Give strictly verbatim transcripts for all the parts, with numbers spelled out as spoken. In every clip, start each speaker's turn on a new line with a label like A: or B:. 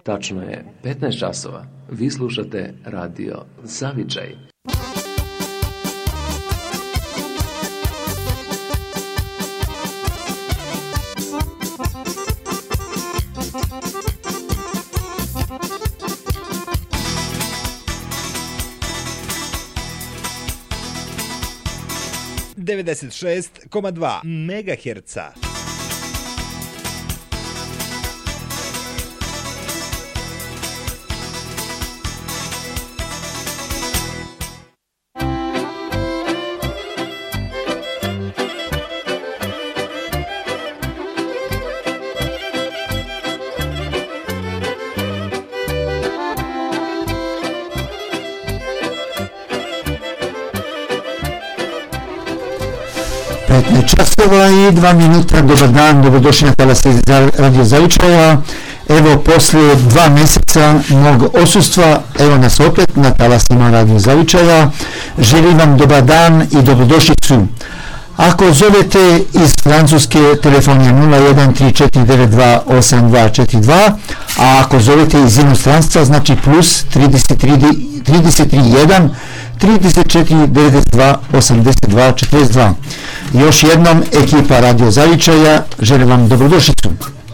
A: Tačno je petnaest časova. Vi slušate Radio Zavičaj.
B: devedeset šest zarez dva megaherca.
C: petnaest časova i dva minuta, dobar dan, dobrodošli na talase Radio Zavičaja. Evo, poslije dva mjeseca mog odsustva, evo nas opet na talasima Radio Zavičaja. Želim vam dobar dan i dobrodošlicu. Ako zovete iz Francuske, telefon je nula jedan tri četiri devet dva osam dva četiri dva, a ako zovete iz inostranstva, znači plus trideset tri jedan trideset četiri devedeset dva osamdeset dva četrdeset dva. Još jednom, ekipa Radio Zavičaja želim vam dobrodošlicu.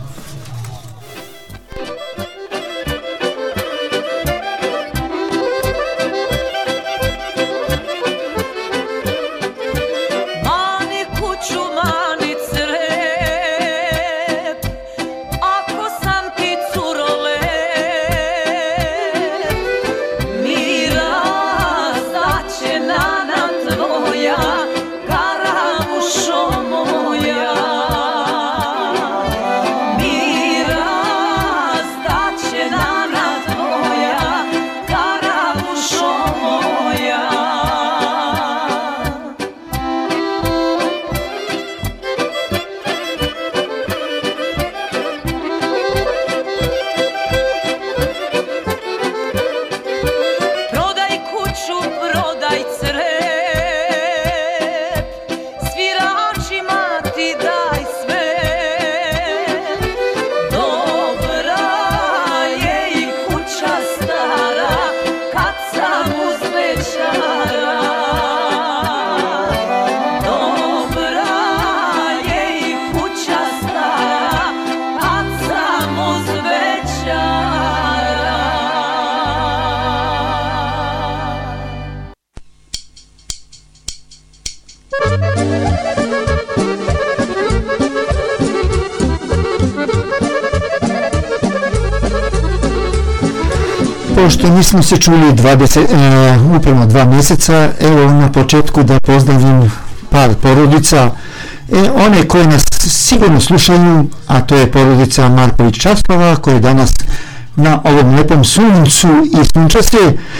C: Pošto nismo se čuli dvadeset, uh, upravo dva mjeseca, evo na početku da pozdravim par porodica, e, one koje nas sigurno slušaju, a to je porodica Marković-Časlova, koja je danas na ovom lijepom suncu i sunčaste,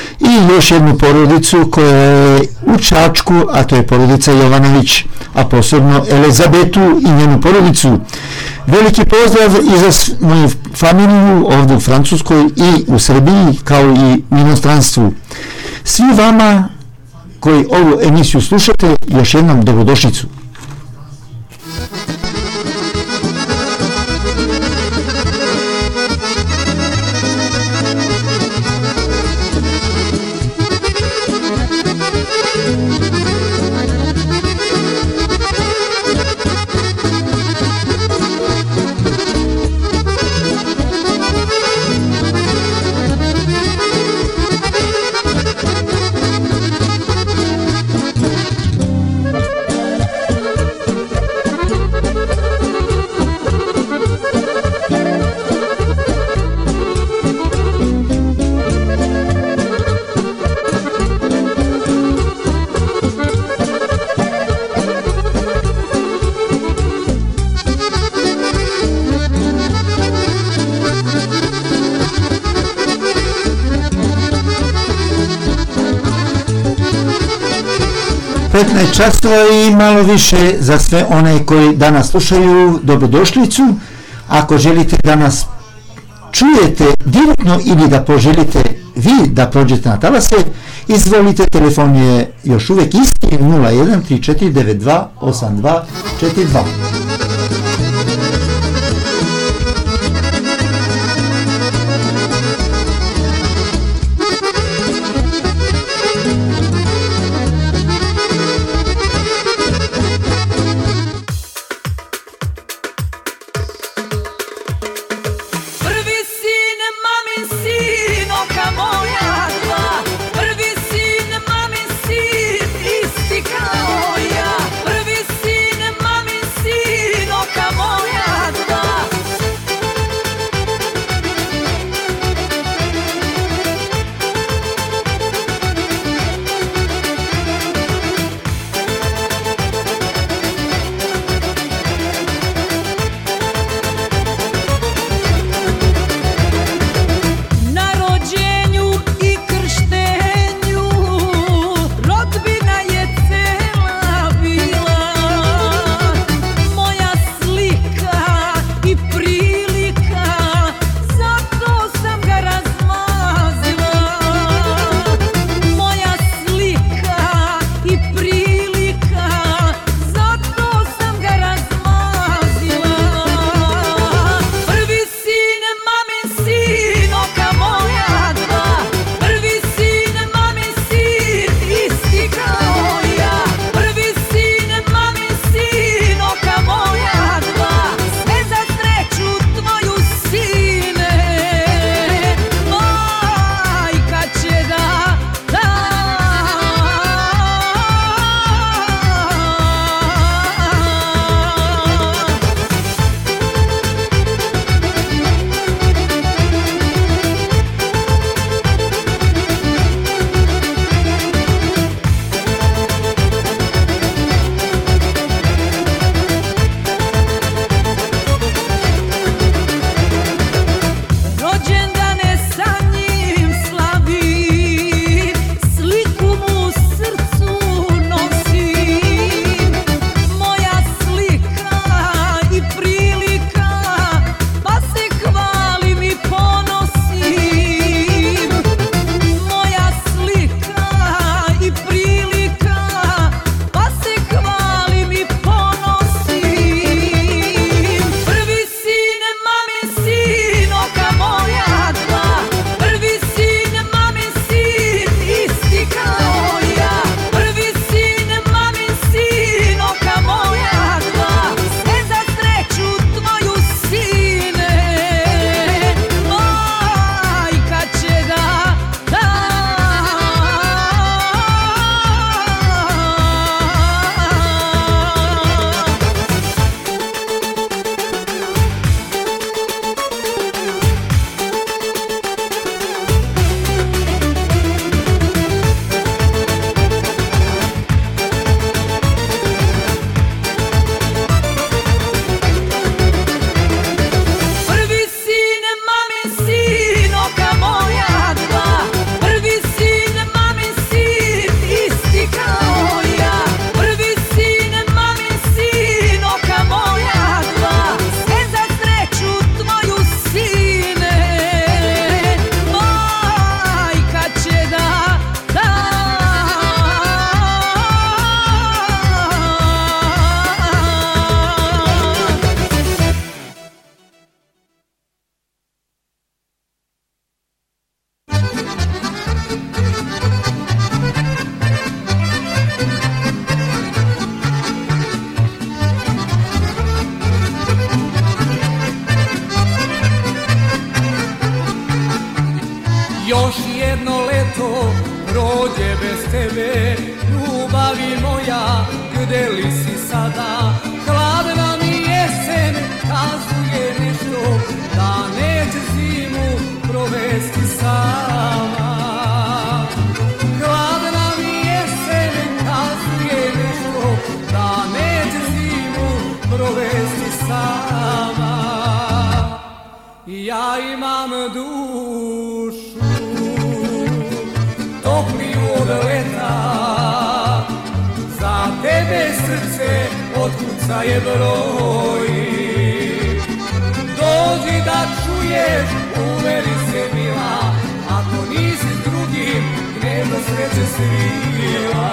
C: i još jednu porodicu koja je u Čačku, a to je porodica Jovanović, a posebno Elizabetu i njenu porodicu. Veliki pozdrav i za moju familiju ovdje u Francuskoj i u Srbiji, kao i u inostranstvu. Svi vama koji ovu emisiju slušate, još jednom dobrodošlicu. petnaest časova i malo više za sve one koji danas slušaju, dobrodošlicu. Ako želite da nas čujete direktno ili da poželite vi da prođete na talase, izvolite, telefon je još uvijek isti, nula jedan tri četiri devet dva osam dva četiri dva.
D: Još jedno leto prođe bez tebe, ljubavi moja, gde li si sada? Hladna mi jesen kazuje nešto, da neće zimu provesti sama. Hladna mi jesen kazuje nešto, da neće zimu provesti sama. Ja imam dušu topliju od leta, za tebe srce otkucaje broji. Dođi da čuješ, uveri se mila, ako nisi s drugim, gnezdo sreće svila.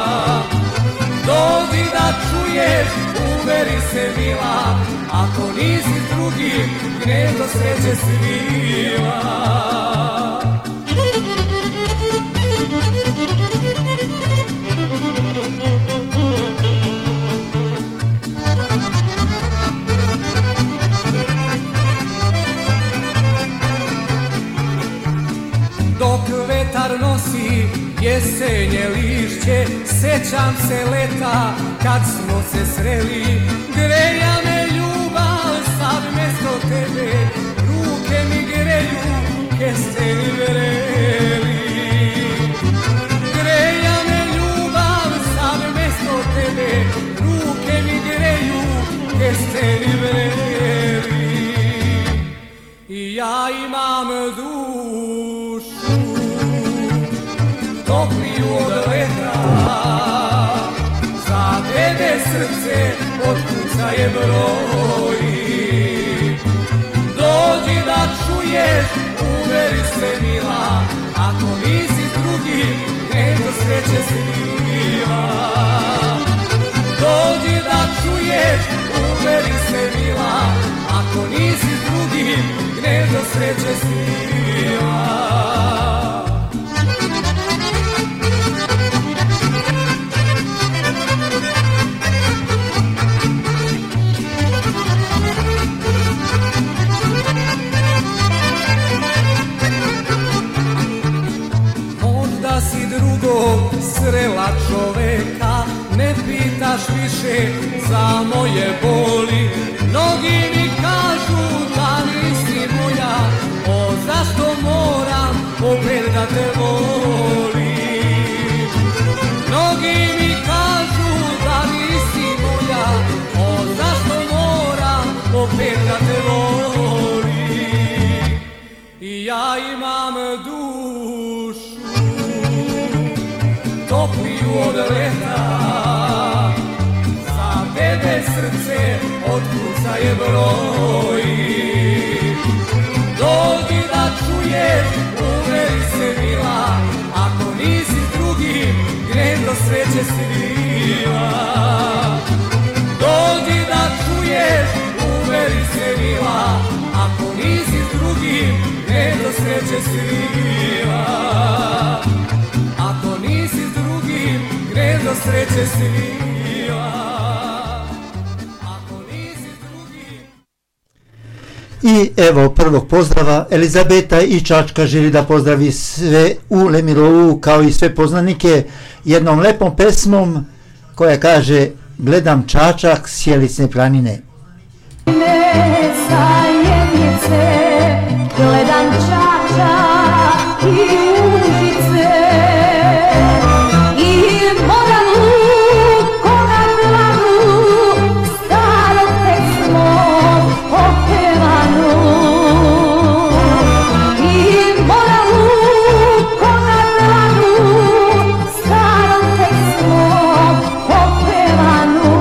D: Dođi da čuješ, uveri se mila, ako nisi s drugim, gnezdo sreće svila. Dok vetar nosi jesenje lišće, sećam se leta kad smo se sreli. Greja me ljubav, sad mesto tebe, ruke mi greju, kesteni vreli. Greja me ljubav, sad mesto tebe, ruke mi greju, kesteni vreli. I ja imam dušu topliju od leta, za tebe srce otkucaje broji. Dođi da čuješ, uveri se mila, ako nisi s drugim, gnezdo sreće svila. Dođi da čuješ, uveri se mila, ako nisi s drugim, gnezdo sreće svila. Možda si drugog srela čoveka, ne pitaš više za moje boli. Mnogi mi kažu da nisi moja, o zašto moram opet da te volim. Mnogi mi kažu da nisi moja, o zašto moram opet da te volim. I ja imam dušu topliju od leta, za tebe srce otkucaje broji. Dođi da čuješ, uveri se mila, ako nisi s drugim, gnezdo sreće svila. Dođi da čuješ, uveri se mila, ako nisi s drugim, gnezdo sreće svila. Ako nisi s drugim, gnezdo sreće svila.
C: I evo prvog pozdrava, Elizabeta i Čačka želi da pozdravi sve u Lemirovu kao i sve poznanike jednom lepom pesmom koja kaže gledam Čačak s Jelisne planine.
E: Ne sa jednice, gledam Čačak i Užice i Moravu, Konadlanu, starom pesmom opevanu. I Moravu, Konadlanu, starom pesmom opevanu.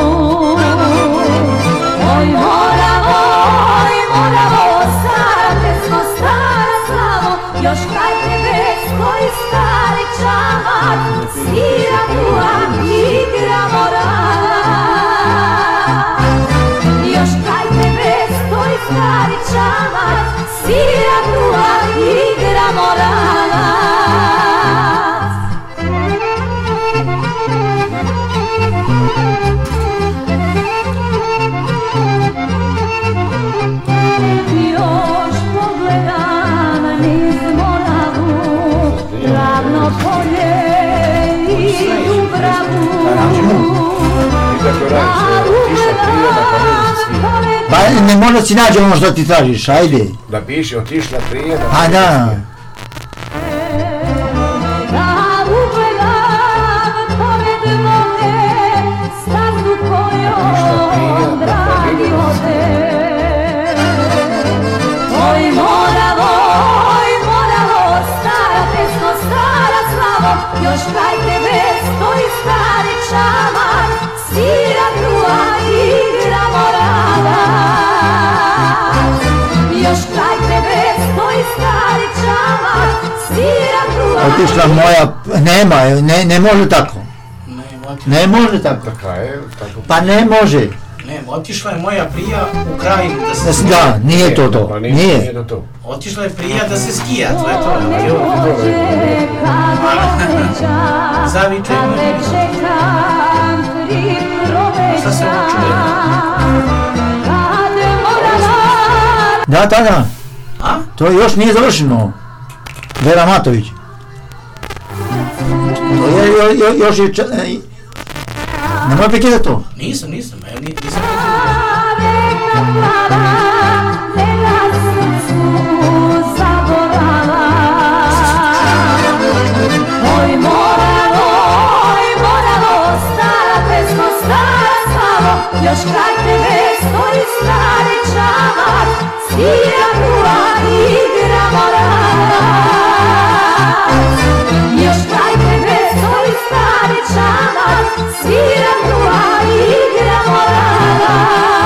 E: Oj Moravo, oj Moravo, stara pesmo, stara slavo, još kraj tebe stoji stari čamak, svira tua, igra morala. Još kraj tebe stoji stari čamak, svira tua, igra morala. Još pogledam niz Morala,
C: Pa ne možda si nađe ono što ti tražiš, ajde.
F: Da piše, otišla prije, da
C: A da.
E: Oj Moravo, oj Moravo, stara pesmo, stara slavo, još kraj tebe stoji stari čamar, svira truha, igra morava. Još kraj tebe stoji stari čamar, svira truha.
C: Otišla moja, nema, ne, ne može tako. Ne može tako. Pa ne može.
G: Ne, otišla je moja prija u krajinu da se...
C: Da, nije to to, nije.
G: Otišla je prija da se skija, to je to. Zaviče je šta se ovo čuje?
C: Da, da, da.
G: A?
C: To još nije završeno. Vera Matović. To je, jo, jo, još je... Ča, e, nemoj prekidati to.
G: Nisam, nisam, ja nisam prekidati.
E: Oj Moravo, oj Moravo, stara pesmo, stara slavo, još kraj tebe stoji stari čamar, svira truha, igra morava. Još kraj tebe stoji stari čamar, svira truha, igra morava.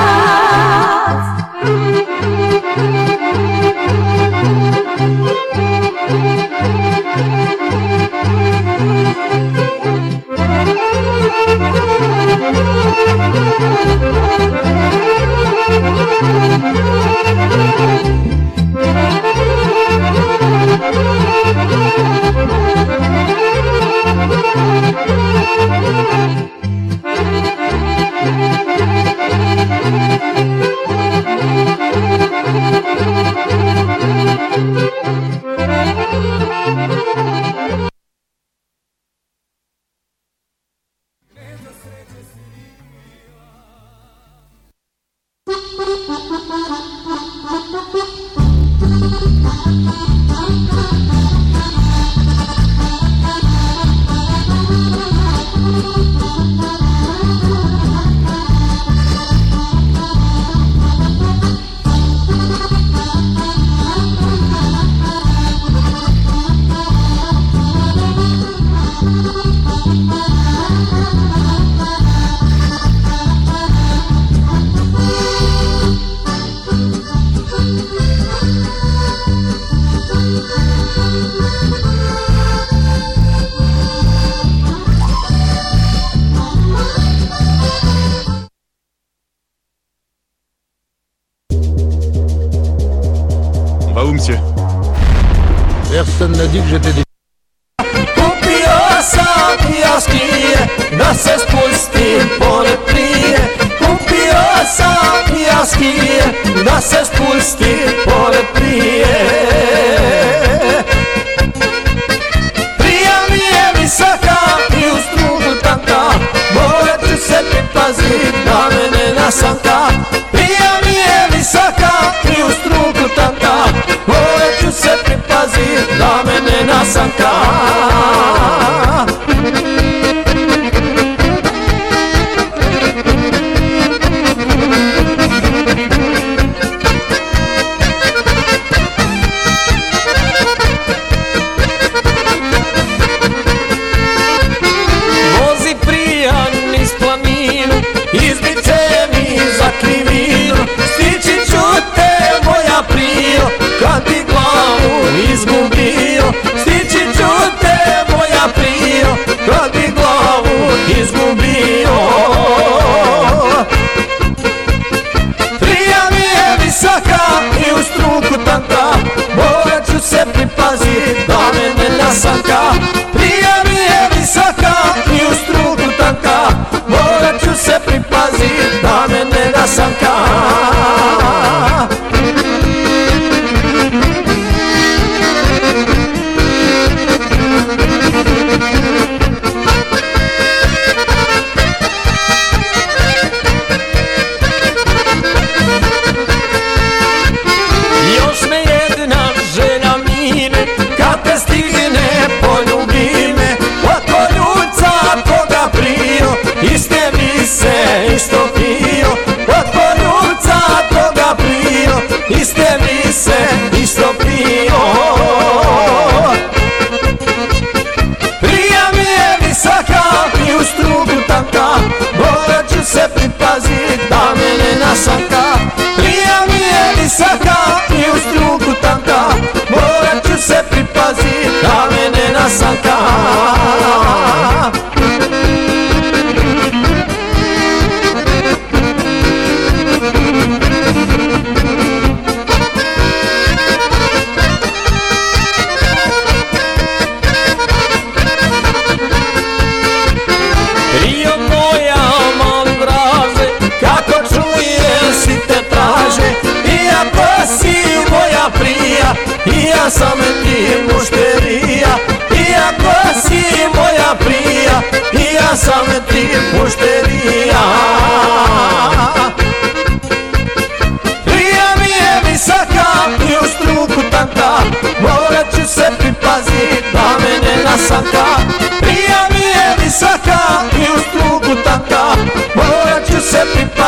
F: Personne n'a dit que j'étais des...
D: Kupio sam jaskije da se spustim pored prije. Kupio sam jaskije da se spustim pored prije. Prija mi je visoka i u strugu tanka, morat ću se pripazit da me ne nasanka. Prija mi je visoka i u strugu tanka, morat ću se pripazit da me ne nasanka.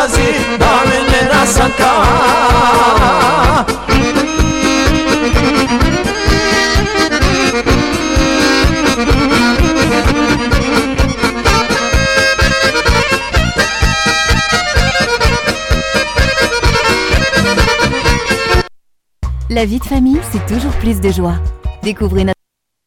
D: pazi da me ne nasanka.
H: La vie de famille, c'est toujours plus de joie. Découvrez notre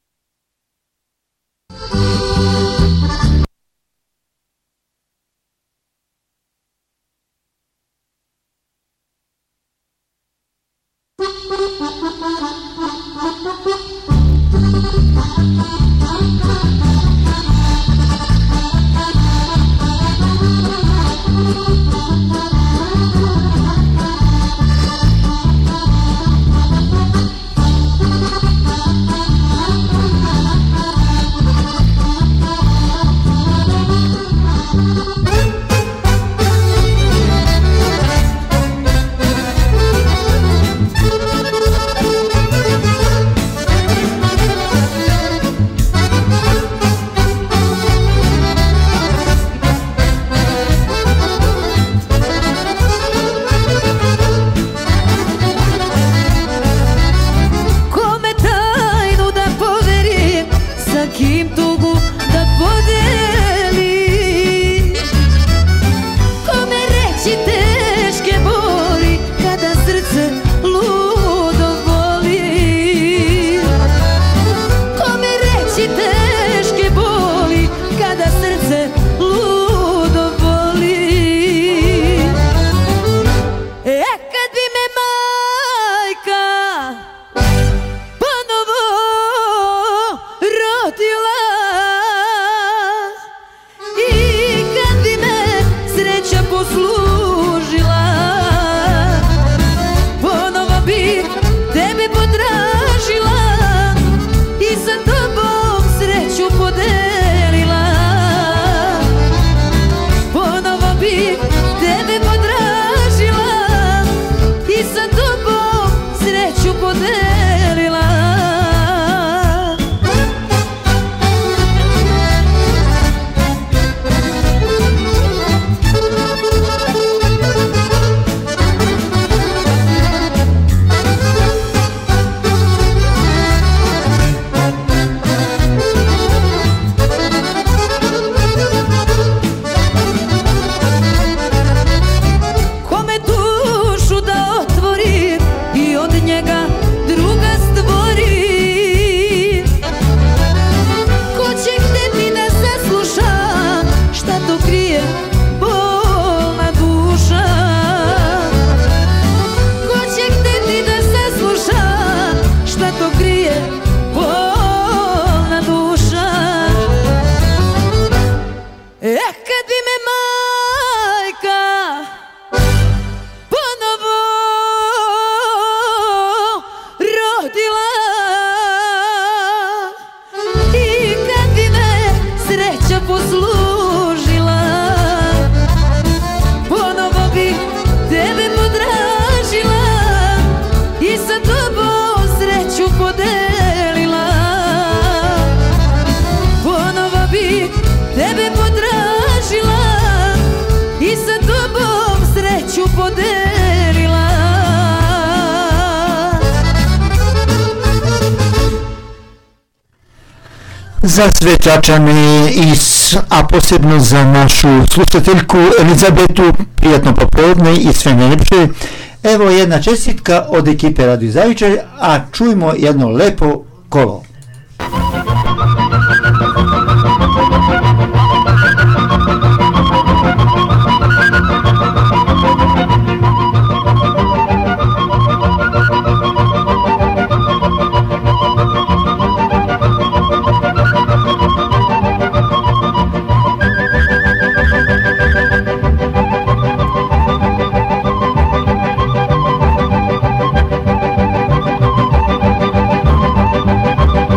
C: za sve Čačane, a posebno za našu slušateljku Elizabetu, prijatno popodne i sve najljepše. Evo jedna čestitka od ekipe Radio Zavičaj, a čujmo jedno lepo kolo.
E: Thank you.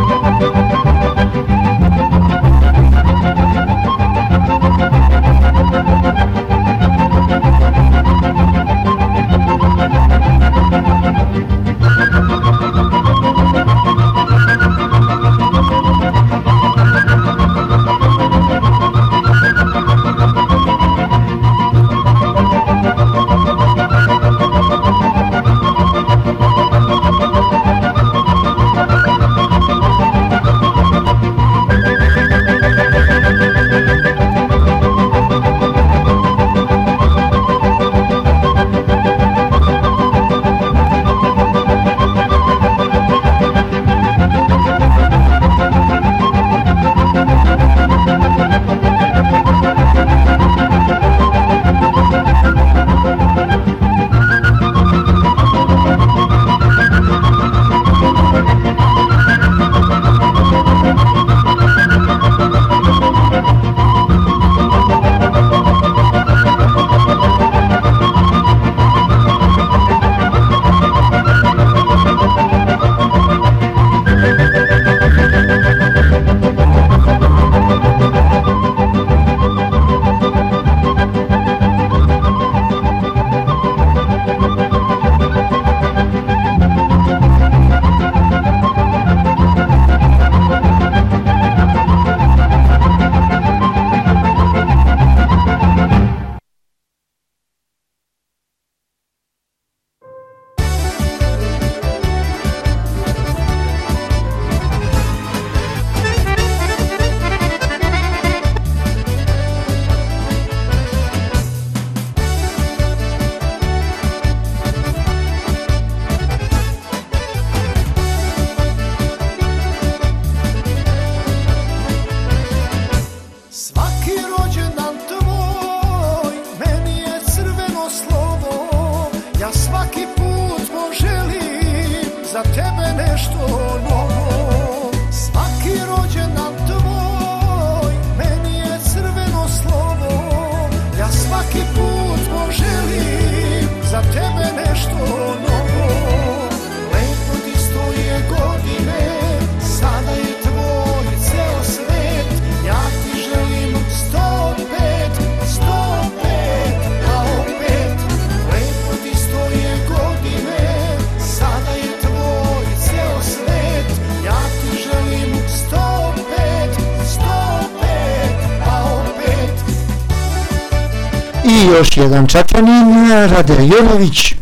D: za tebe nešto novo. Svaki rođendan tvoj meni je crveno slovo. Ja svaki put poželim za tebe nešto novo. Lepo ti stoje godine, sada je tvoj ceo svet. Ja ti želim sto pet, sto pet, a opet. Lepo ti stoje godine, sada je tvoj ceo svet. Ja ti želim sto pet, sto pet, a opet.
C: I još jedan Čačanin, Rade Jonović.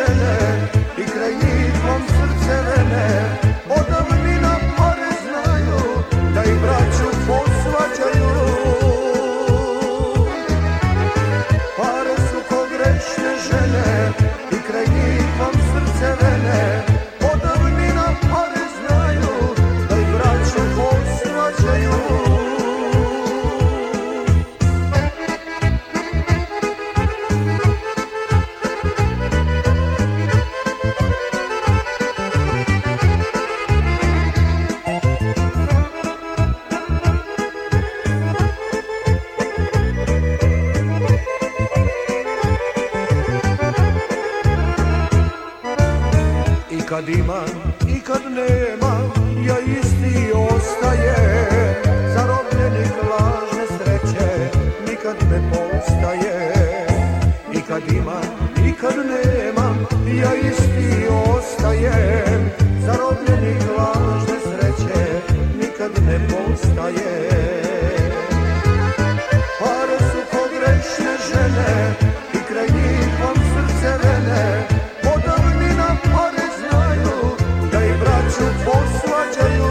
D: žene i kraj njih vam srce vene. Od davnina pare znaju da i braću posvađaju. Pare su ko grešne žene i kraj njih vam srce vene. Od davnina pare znaju da i braću posvađaju. Kad imam i kad nemam, ja isti ostajem. Zarobljenik lažne sreće nikad ne postaje. I kad imam i kad nemam, ja isti ostajem. Zarobljenik lažne sreće nikad ne postaje. Pare su ko grešne žene i kraj njih vam srce vene. Od davnina pare znaju da i braću posvađaju.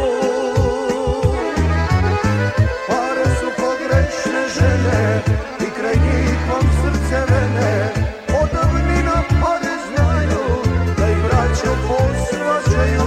D: Pare su ko grešne žene i kraj njih vam srce vene. Od davnina pare znaju da i braću posvađaju.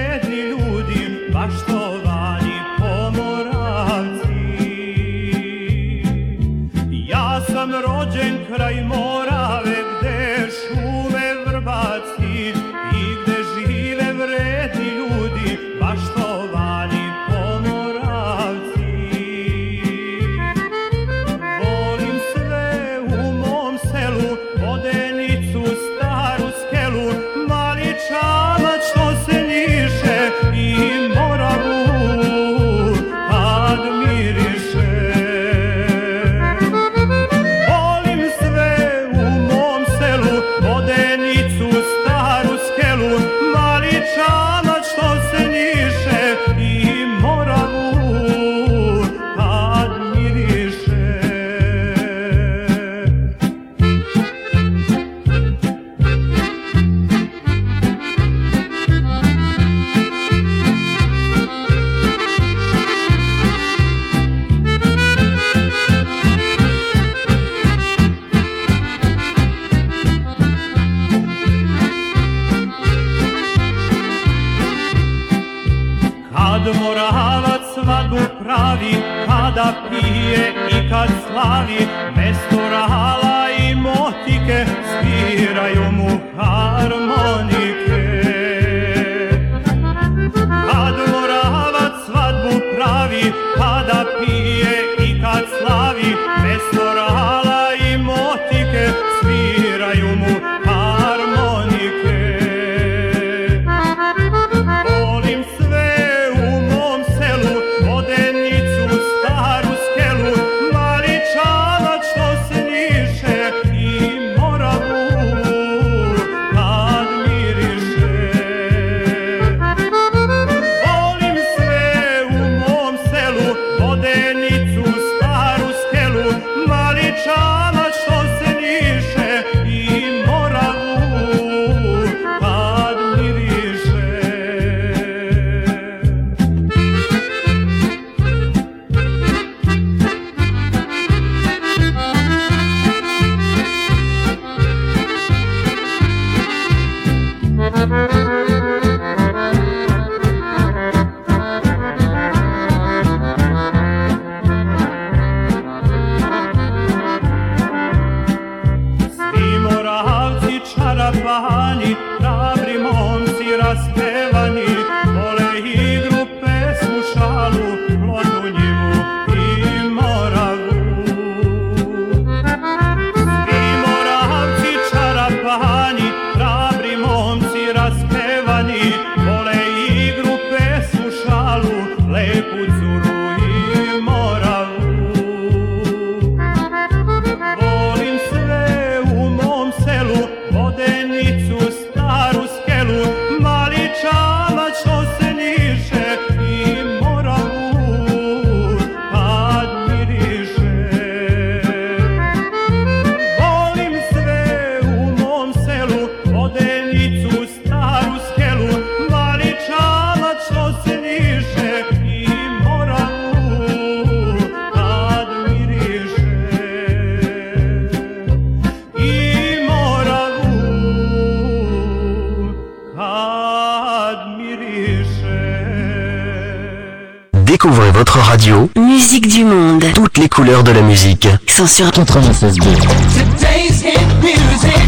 I: Poštovani pomoravci, sam rođen kraj Morave, gde šume vrbaci i gde žive vredni ljudi, baštovani Pomoravci. Volim sve u mom selu, Vodenicu, Staru Skelu, Mali Čamac što se njiše i Moravu kad miriše. Volim sve u mom selu, Vodenicu, Staru Skelu, Mali Čamac što se njiše i Moravu kad miriše. Kad Moravac svadbu pravi, kada pije i kad slavi, mesto rala i motike sviraju mu harmonike. Kad Moravac svadbu pravi, kada pije i kad slavi, mesto rala i motike sviraju mu harmonike. Volim sve u mom selu, Vodenicu, Staru Skelu, Mali Čamac što se njiše i Moravu kad miriše. Volim sve u mom selu, Vodenicu, Staru Skelu, Mali Čamac što se njiše i Moravu kad miriše. Svi Moravci čarapani, hrabri momci raspevani, vole igru, pesmu, šalu, plodnu njivu i Moravu. Svi Moravci čarapani, hrabri momci raspevani, vole igru, pesmu, šalu, lepu curu i Moravu. Volim sve u mom selu, Vodenicu, Staru Skelu, Mali Čamac što se njiše i Moravu kad miriše. Volim sve u mom selu, Vodenicu, Staru Skelu, Mali Čamac što se njiše i Moravu kad miriše. I Moravu kad miriše.
J: Découvrez votre radio.
K: Musique du monde.
J: Toutes les couleurs de la musique.
K: Sont sur
J: quatre-vingt-seize deux.
D: Today's hit music.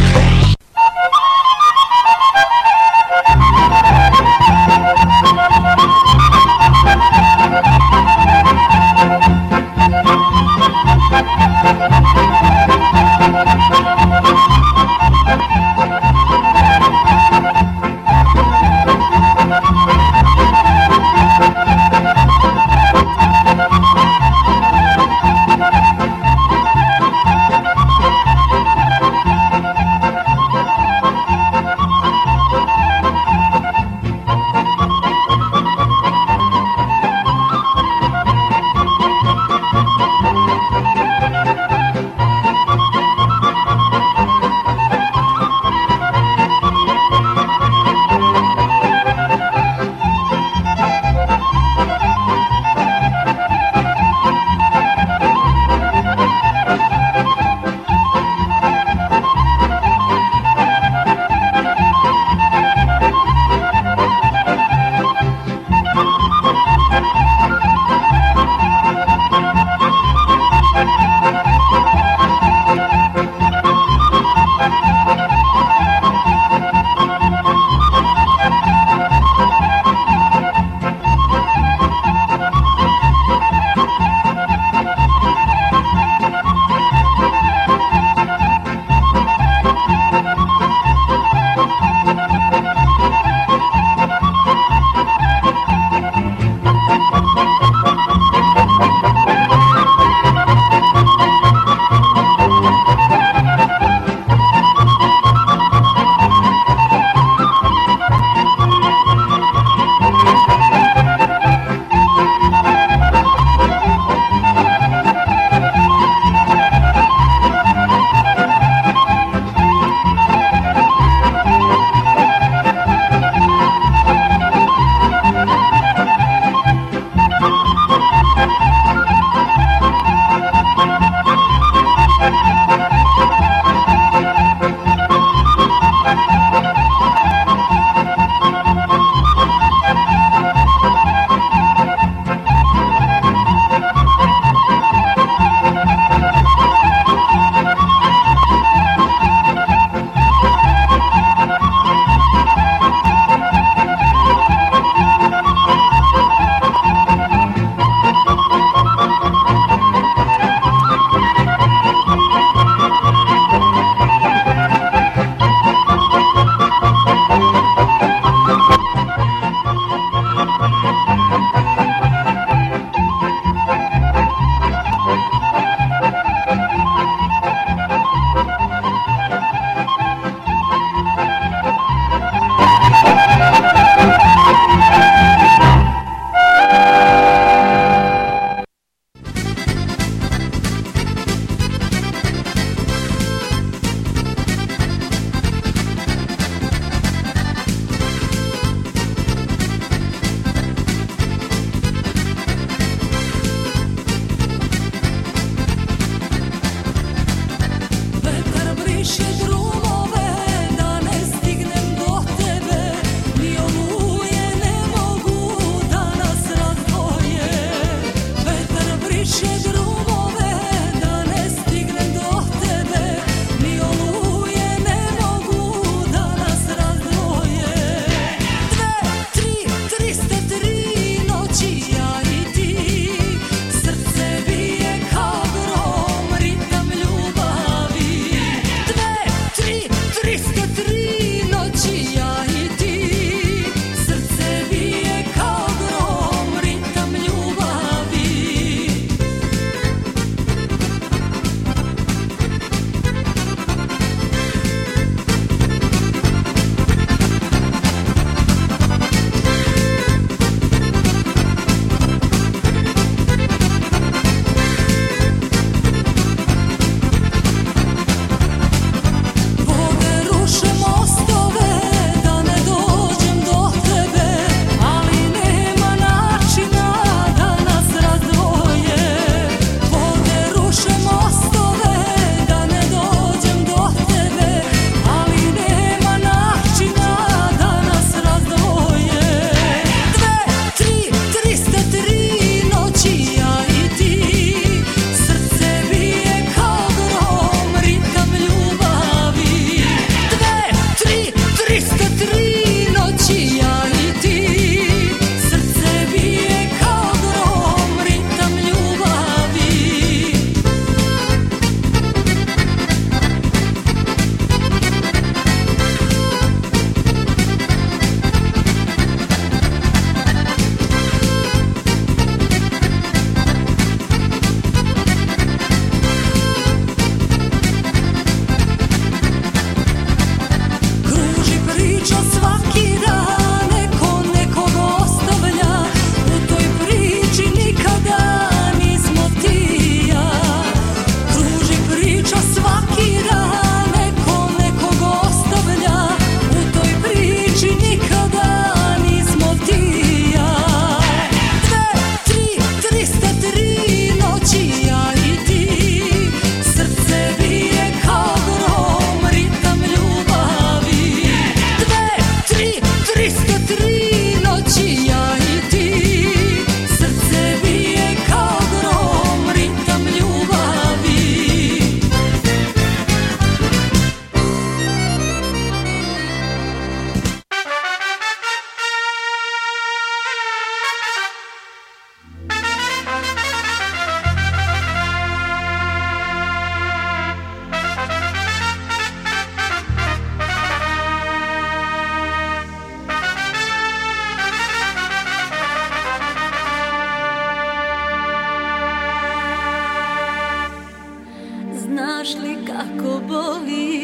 K: znaš li kako boli,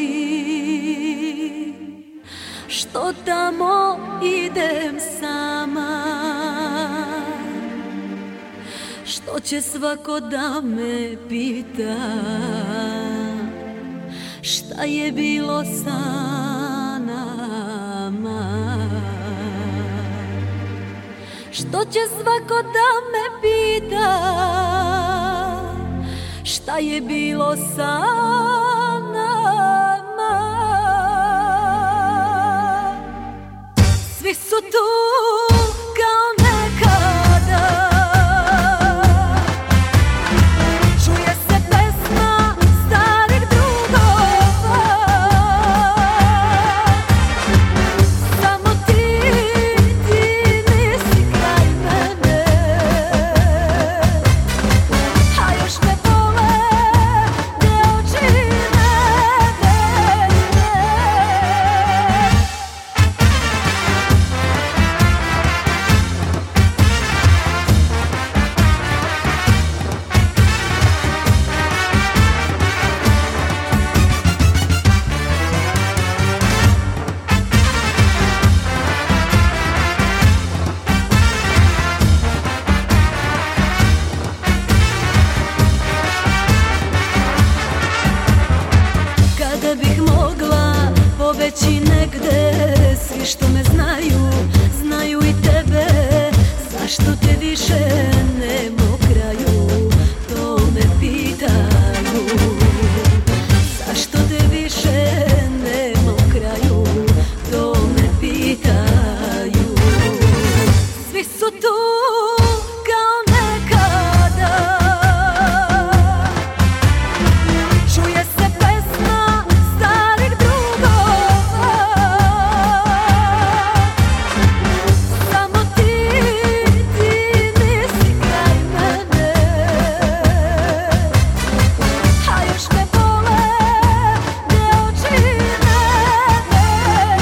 K: što tamo idem sama, što će svako da me pita šta je bilo sa nama, što će svako da me pita šta je bilo sa nama. Svi su tu kao nekada, čuje se pesma starih drugova, samo ti, ti nisi kraj mene, a još me bole te oči nedeljne. Kada bih mogla pobeći negde, svi što me znaju, znaju i tebe. Zašto te više nema u kraju, to me pitaju. Zašto te više nema u kraju, to me pitaju. Svi su tu kao nekada, čuje se pesma starih drugova, samo ti, ti nisi kraj mene, a još me bole te oči nedeljne.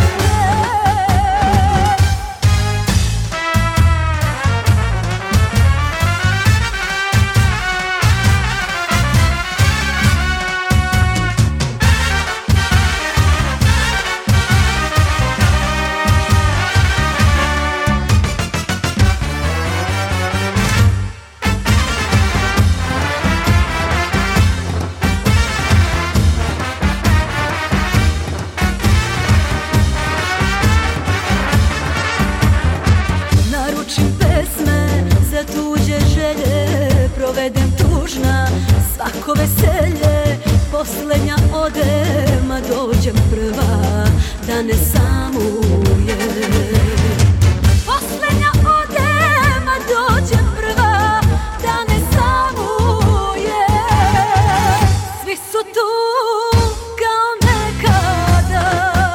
K: Naručim pesme za tuđe želje, provedem tužna svako veselje. Poslednja odem, a dođem prva da ne samuje. Poslednja odem, a dođem prva da ne samuje. Svi su tu kao nekada,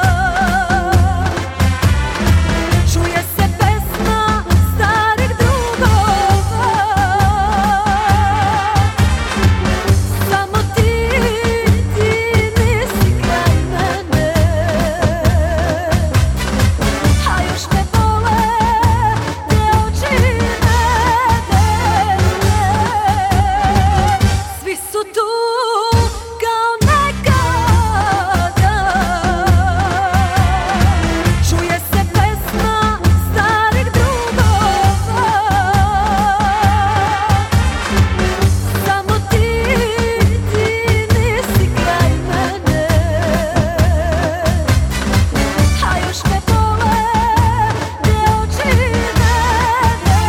K: čuje se pesma starih drugova, samo ti, ti nisi kraj mene, a još me bole te oči nedeljne. Svi su tu kao nekada, čuje se pesma starih drugova, samo ti, ti nisi kraj mene, a još me bole te oči nedeljne.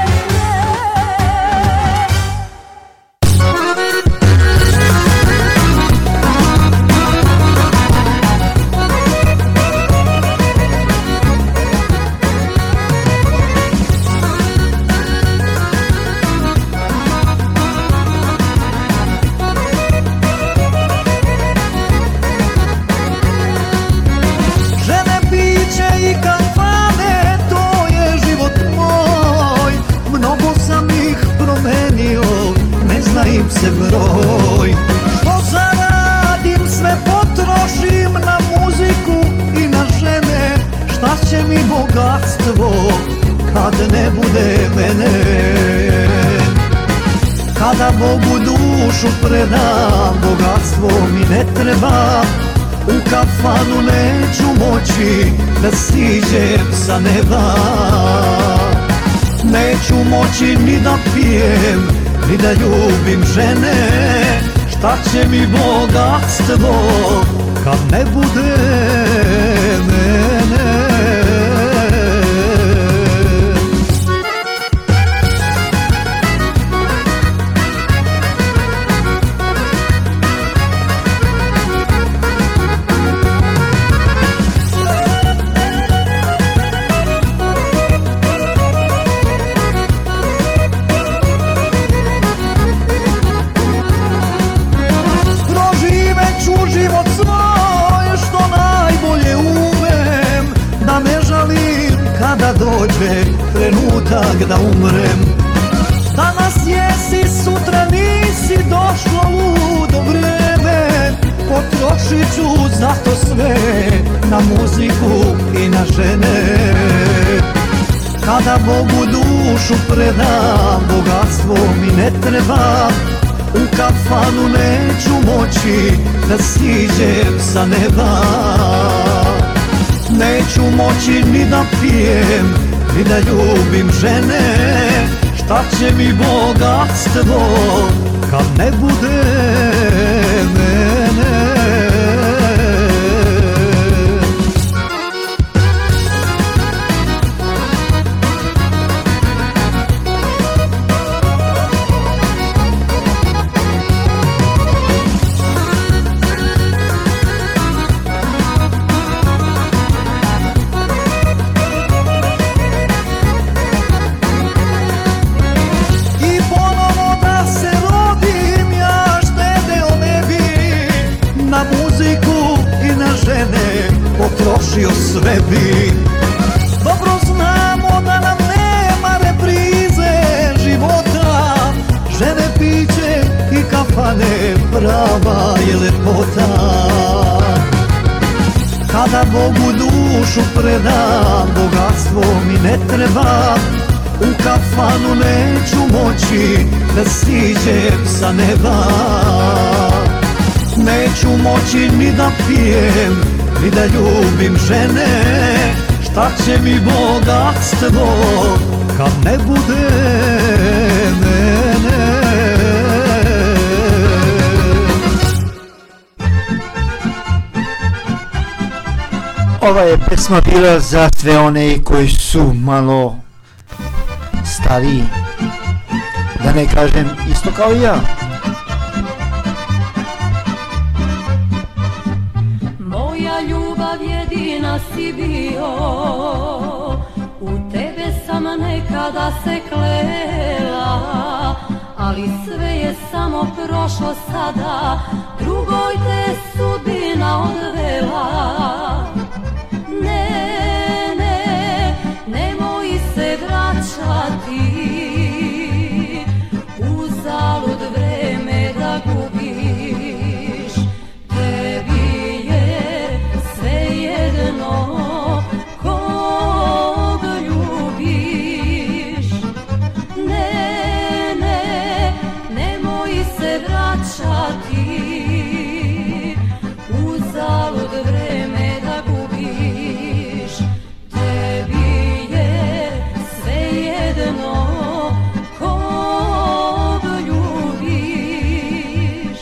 D: Žene, piće i kafane, to je život moj. Mnogo sam ih promenio, ne zna im se broj. Što zaradim, sve potrošim na muziku i na žene. Šta će mi bogatstvo kad ne bude mene? Kada Bogu dušu predam, bogatstvo mi ne treba, u kafanu neću moći da siđem sa neba. Neću moći ni da pijem, ni da ljubim žene, šta će mi bogatstvo kad ne bude mene. Da dođe trenutak da umrem. Danas jesi, sutra nisi, došlo ludo vreme. Potrošit ću zato sve na muziku i na žene. Kada Bogu dušu predam, bogatstvo mi ne treba, u kafanu neću moći da siđem sa neba. Neću moći ni da pijem, ni da ljubim žene, šta će mi bogatstvo kad ne bude mene. Potrošio sve bi. Dobro znamo da nam nema reprize života, žene, piće i kafane, prava je lepota. Kada Bogu dušu predam, bogatstvo mi ne treba, u kafanu neću moći da siđem sa neba. Neću moći ni da pijem, ni da ljubim žene, šta će mi bogatstvo kad ne bude mene.
C: Ova je pesma bila za sve one koji su malo stariji, da ne kažem isto kao i ja.
K: Jedina si bio, u tebe sam nekada se klela, ali sve je samo prošlo sada, drugoj te sudbina odvela. Ne, ne, nemoj se vraćati, uzalud vreme da gubiš, tebi kog ljubiš. Ne, ne, nemoj se vraćati, uzalud vreme da gubiš, tebi je svejedno kog ljubiš.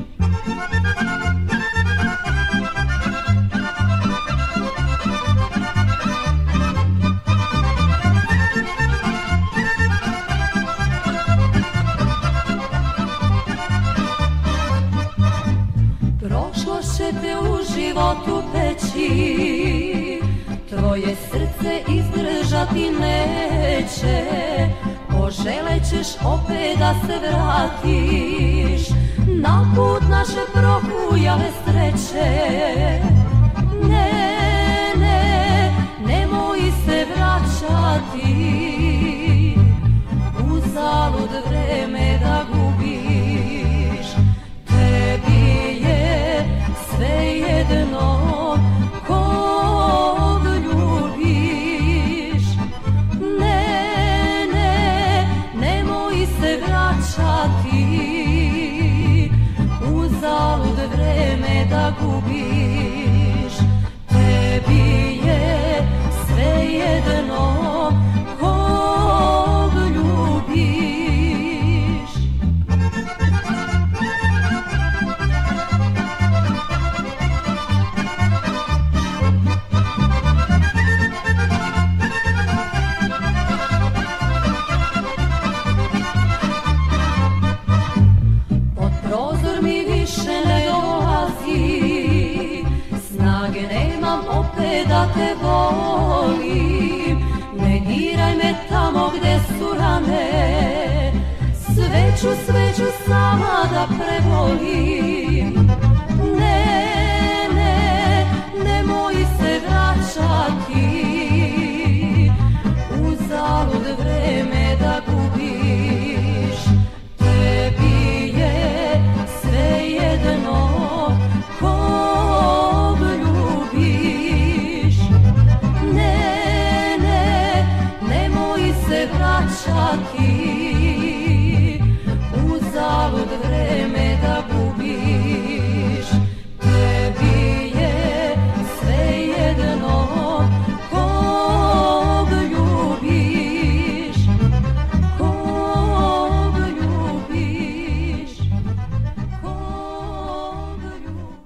K: Te u životu peći, tvoje srce izdržati neće, poželećeš opet da se vratiš na put naše prohujale sreće. Ne, ne, nemoj se vraćati, uzalud vreme da gubiš, tebi je svejedno kog ljubiš. Ne, ne, nemoj se vraćati, uzalud vreme da gubiš. Tebi je svejedno kog ljubiš. Da te volim, ne diraj me tamo gde su rane, sveću, sveću sama da prebolim. Ne, ne, nemoj se vraćati, uzalud vreme da gubiš. Tebi je svejedno kog ljubiš. Vraćati, uzalud vreme da gubiš. Tebi je svejedno kog ljubiš, kog ljubiš, kog ljubiš.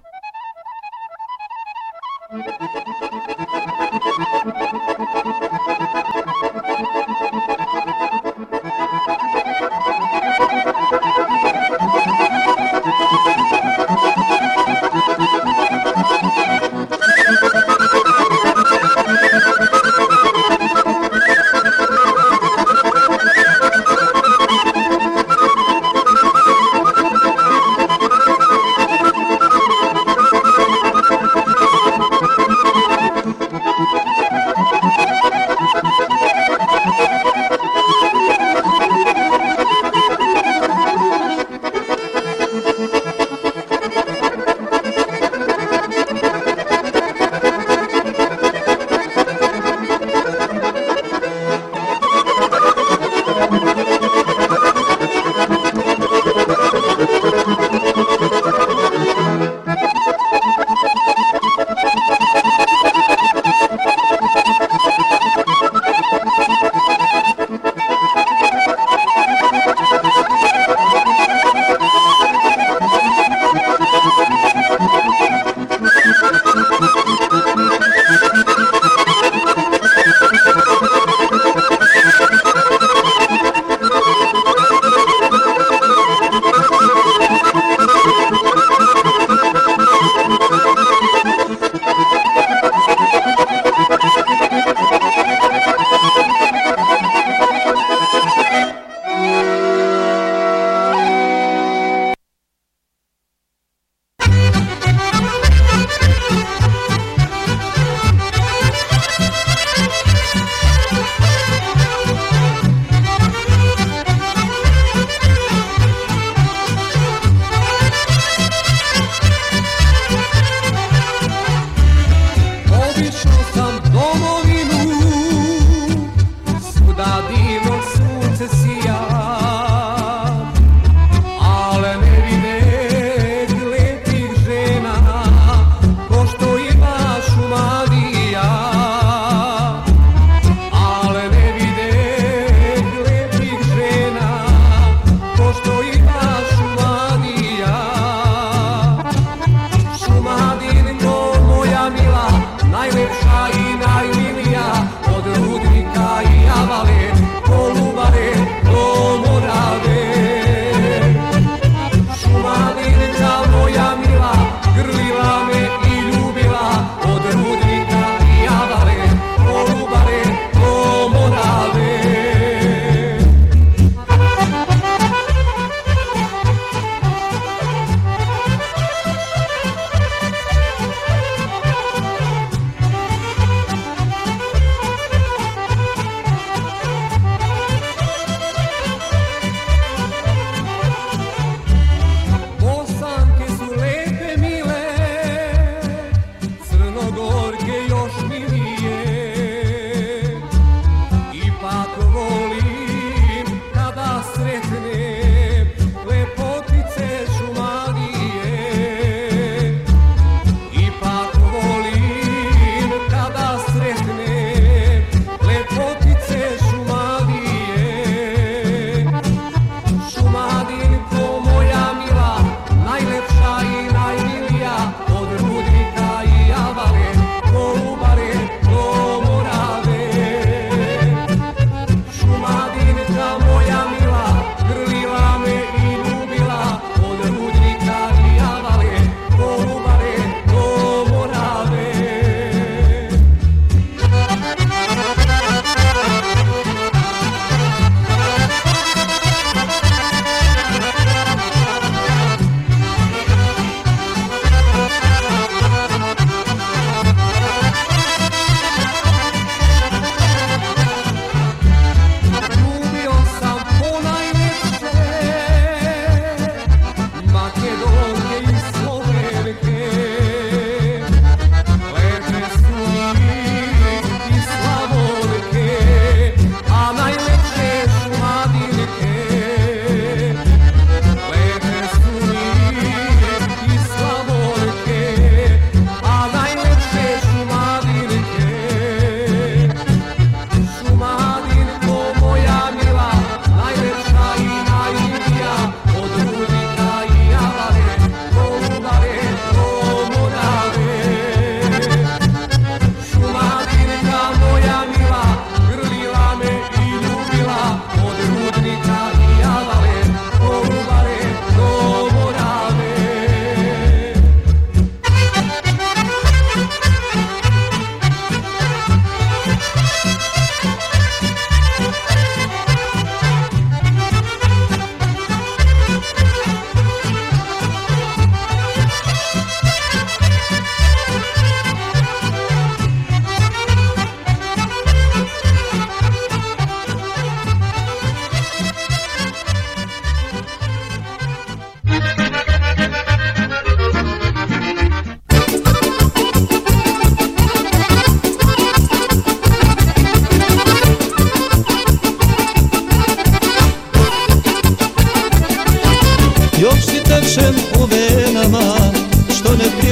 E: Thank you.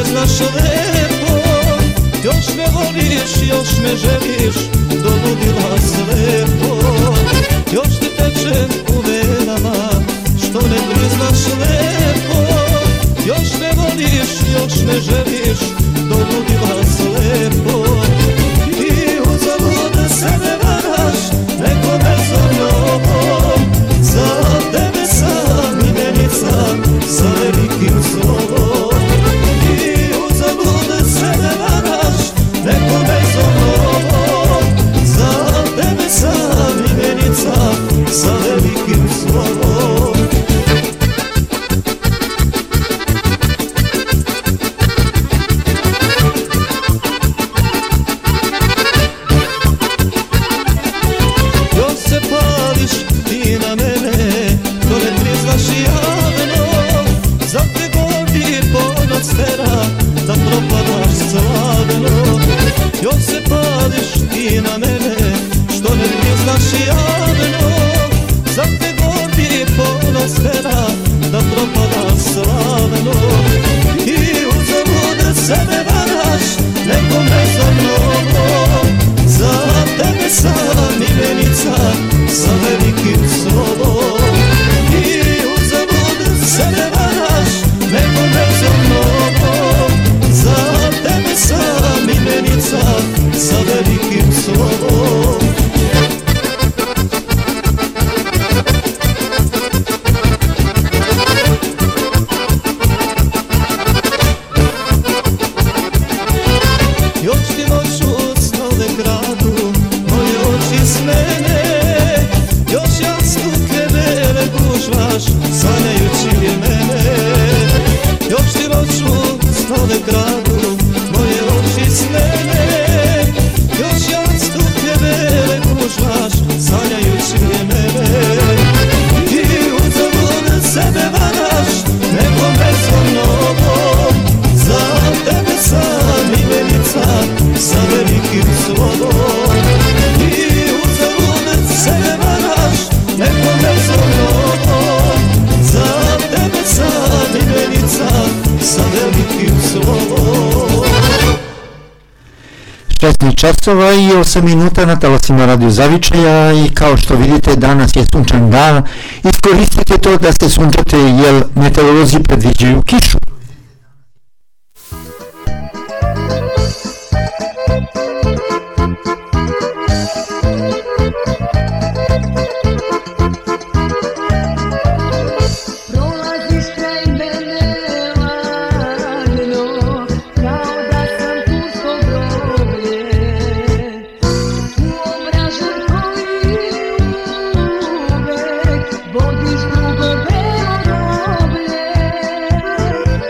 D: znaš lepo, još me voliš, još me želiš, do ludila slepo. Još ti teče u venama, što ne priznaš lepo, još me voliš, još me želiš, do ludila slepo. I uzalud sebe varaš, neko me zovnom, za tebe sam imenica, sa velikim slovom. I uzalud sebe varaš, neko me zovnom, za tebe sam imenica, sa velikim slovom. Još se pališ ti na mene, to ne priznaš javno, za te godi ponoć tera, da propadaš slavno. Još se pališ ti na mene, što ne priznaš javno, za te godi ponoć tera, da propadaš slavno. I uzalud sebe varaš, nekom bezomnom, za tebe sam imenica, sa velikim slovom. I uzalud sebe varaš, nekom bezomnom, za tebe sam imenica, sa velikim slovom. Još ti noću snove kradu, moje oči s mene, još jastuke bele gužvaš, sanjajući mene. Još ti noću snove kradu, moje oči s mene, još jastuke bele gužvaš, sanjajući mene. I uzalud sebe varaš, nekom bezomnom, za tebe sam imenica, sa velikim slovom. I uzalud sebe varaš, nekom bezomnom, za tebe sam imenica, sa velikim slovom.
C: šesnaest časova i osam minuta na talasima Radio Zavičaja i kao što vidite danas je sunčan dan. Iskoristite to da se sunčate jer meteorolozi predviđaju kišu.
E: Vodiš drugo belo roblje,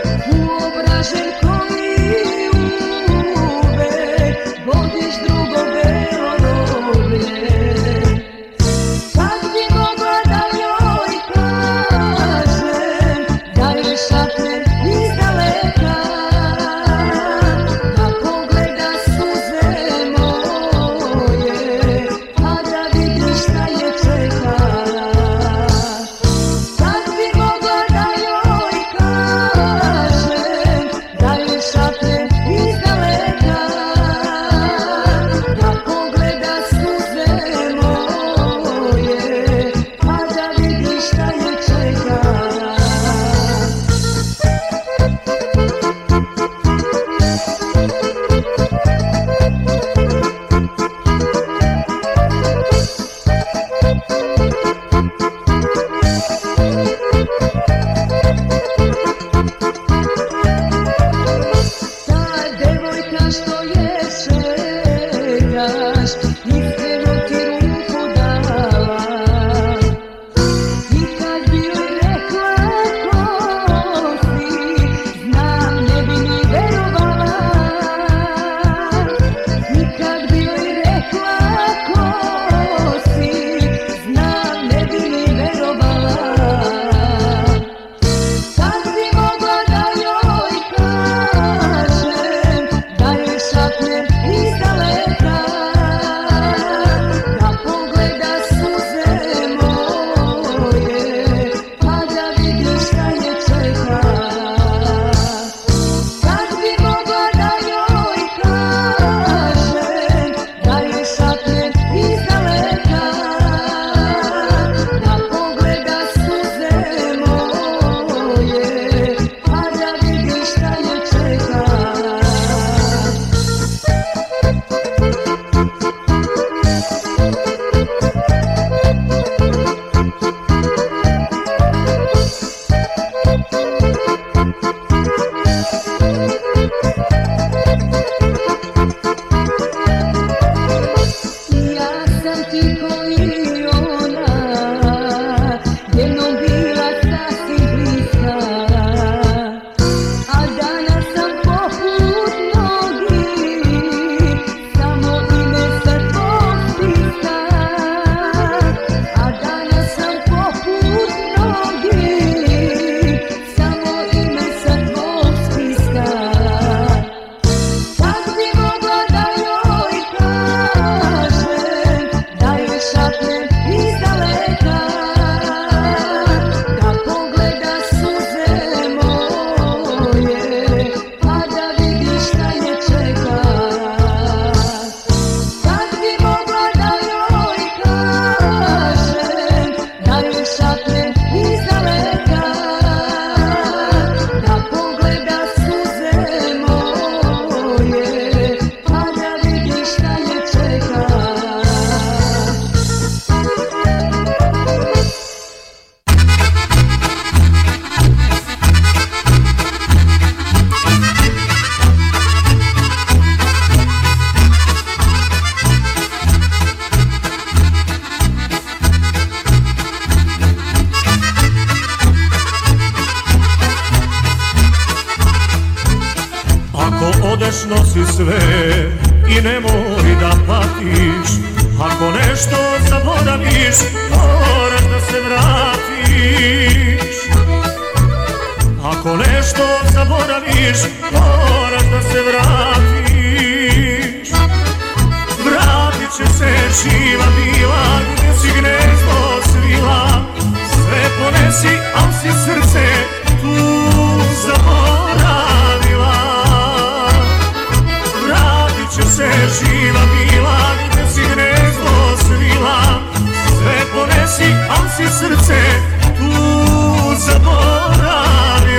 I: Ako odeš nosi sve i nemoj da patiš, ako nešto zaboraviš moraš da se vratiš. Ako nešto zaboraviš moraš da se vratiš. Vratit će se živa bila gdje si gnezdo svila. Sve ponesi, al si srce tu zaboravila. Vratit će se živa bila gdje si gnezdo svila. Sve ponesi, al si srce tu zaboravila.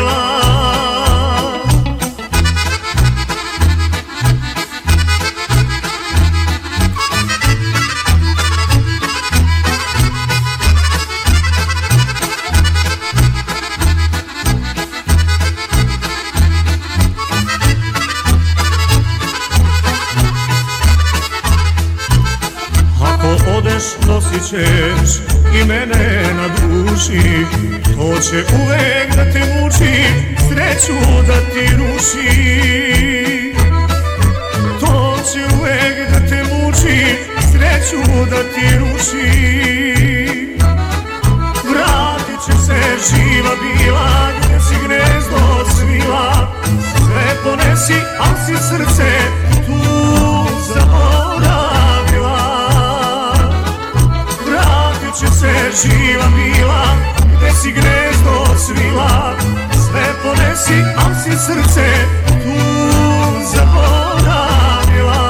I: Nosit ćeš i mene na duši, to će uvek da te muči, sreću da ti ruši. To će uvek da te muči, sreću da ti ruši. Vratit će se živa bila gdje si gnezdo svila. Sve ponesi, al si srce tu zaboravila. Će se živa bila gdje si gnezdo svila. Sve ponesi, al si srce tu zaboravila.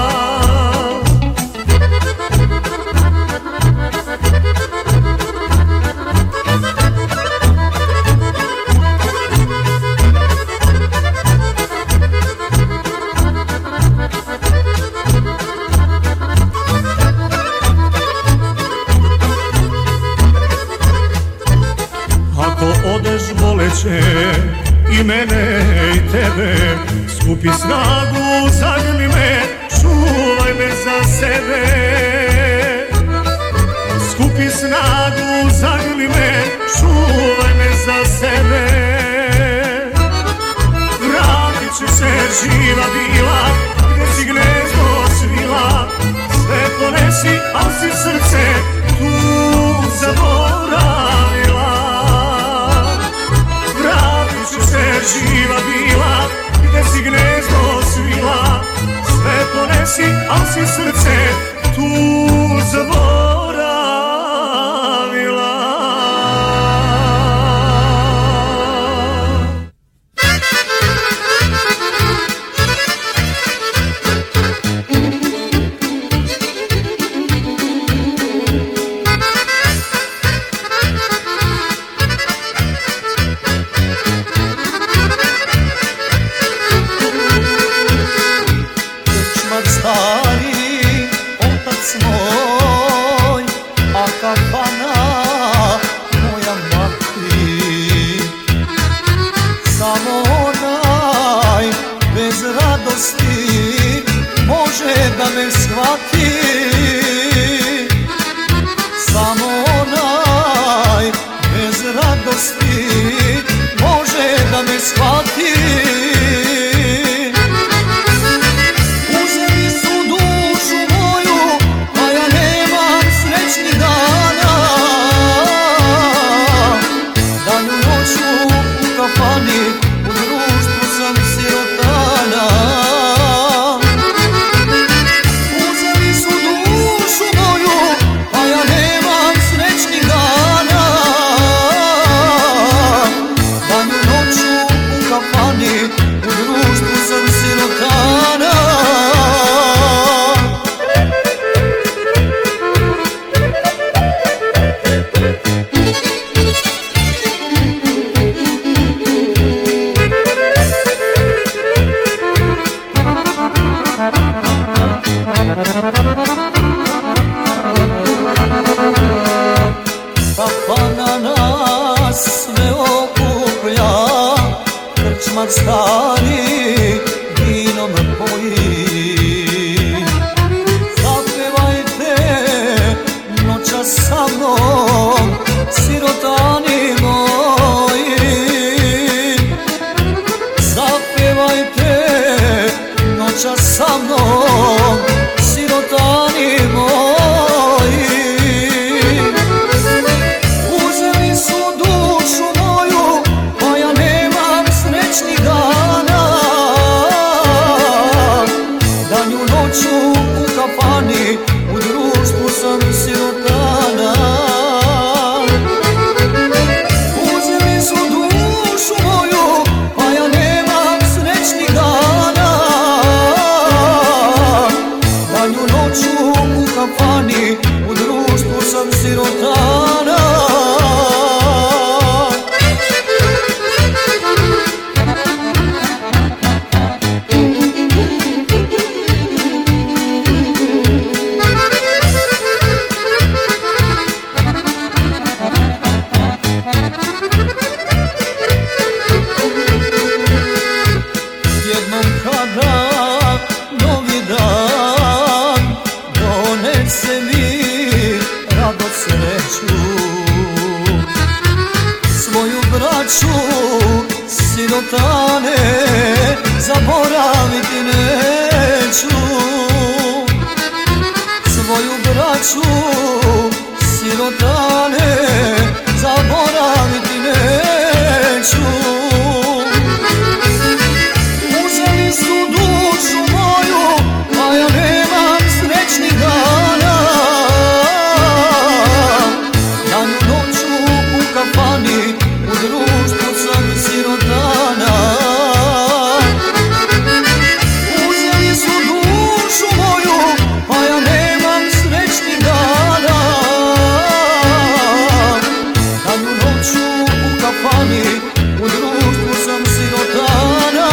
I: I mene i tebe, skupi snagu, zagrli me, čuvaj me za sebe. Skupi snagu, zagrli me, čuvaj me za sebe. Vratit će se živa bila gdje si gnezdo svila. Sve ponesi, al si srce tu zaboravila. Živa bila gdje si gnezdo svila. Sve ponesi, al si srce tu zaboravila.
D: Stari vinom poji. Zapevajte noćas sa mnom, sirotani moji. Zapevajte noća sa mnom, sirotani moji. Uzeli su dušu moju, pa ja nemam srećnih dana. Danju noću u kafani, u društvu sam sirotana. Uzeli su dušu moju, pa ja nemam srećnih dana. Danju noću u kafani, u društvu sam sirotana. Jednom kada novi dan donese mi radost, sreću, svoju braću sirotane zaboraviti neću. Svoju braću sirotane zaboraviti neću. Uzeli su dušu moju, a ja nemam srećnih dana. Danju noću u kafani, u društvu sam sirotana. Uzeli su dušu moju, a ja nemam srećnih dana. Danju noću u kafani, u društvu sam sirotana.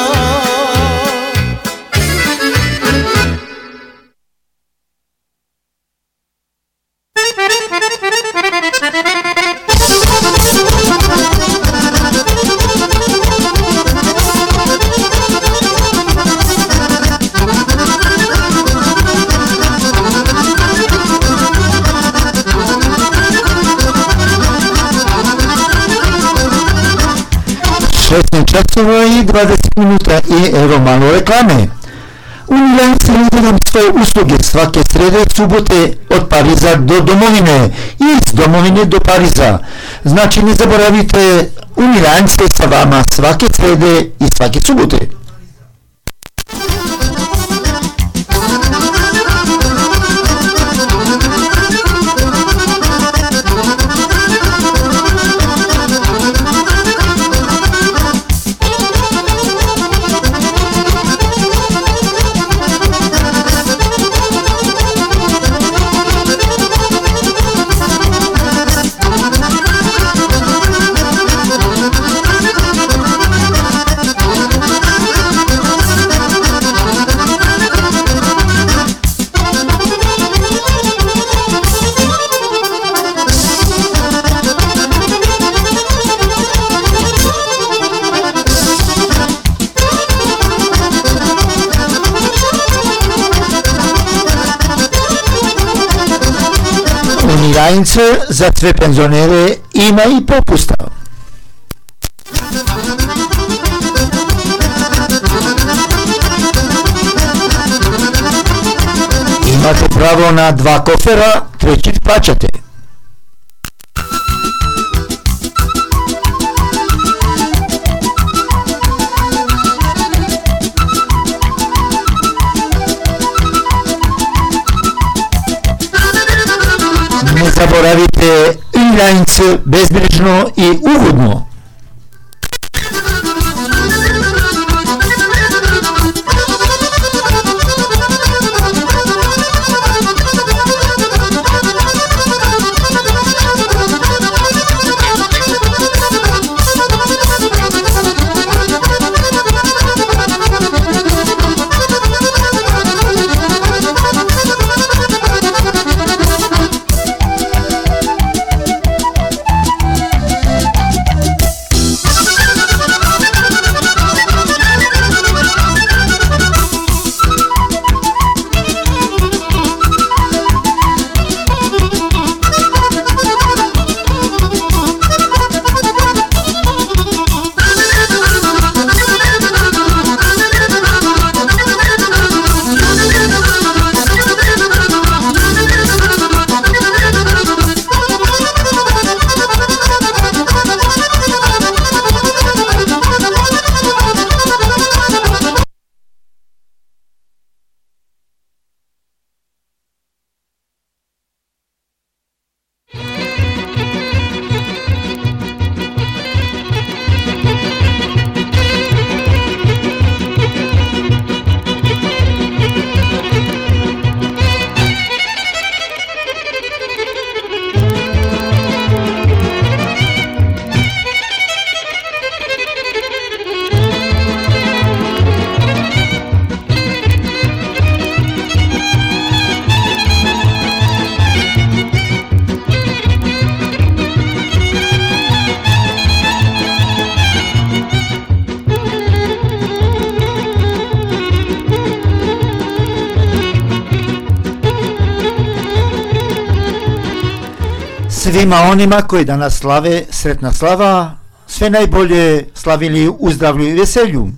C: šesnaest časova i dvadeset minuta i evo malo reklame. Unilance nudi nam svoje usluge svake srede, subote od Pariza do domovine i iz domovine do Pariza. Znači ne zaboravite, Unilance sa vama svake srede i svake subote. Unilance za sve penzionere ima i popusta. Imate pravo na dva kofera, treći plaćate. Ne zaboravite, Unilance bezbrižno i ugodno. svima onima koji danas slave sretna slava, sve najbolje, slavili u zdravlju i veselju.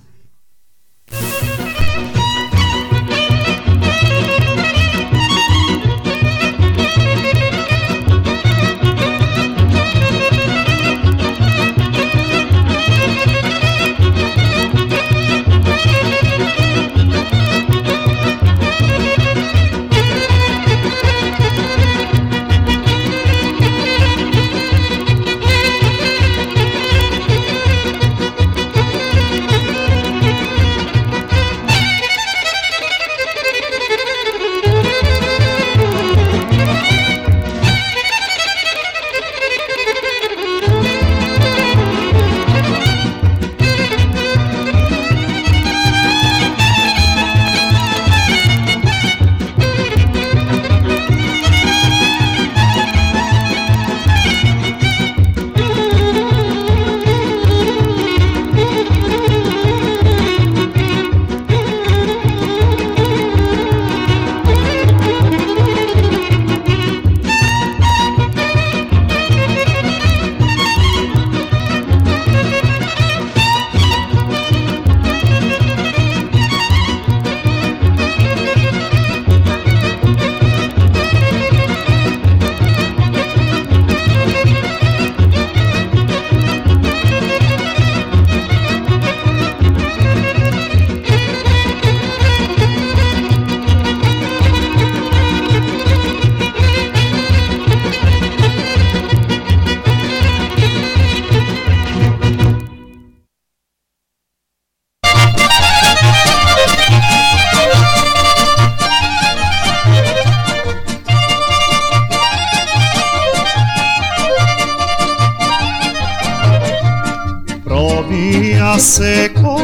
I: se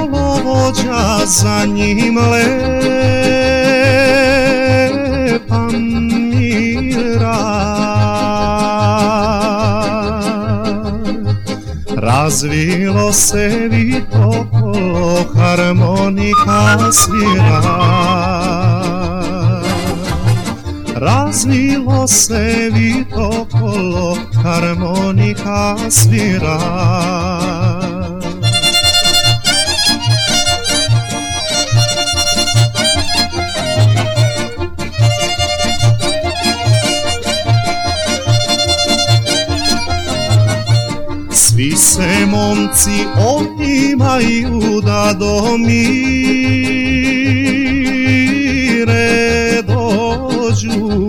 I: kolovođa, za njim lepa mira. Razvilo se vito kolo, harmonika svira. Razvilo se vito kolo, harmonika svira. Svi se momci otimaju da do mire dođu,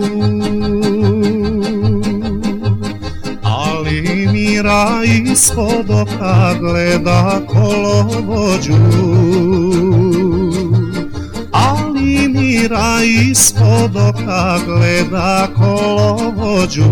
I: ali mira ispod oka gleda kolovođu. Ali mira ispod oka gleda kolovođu.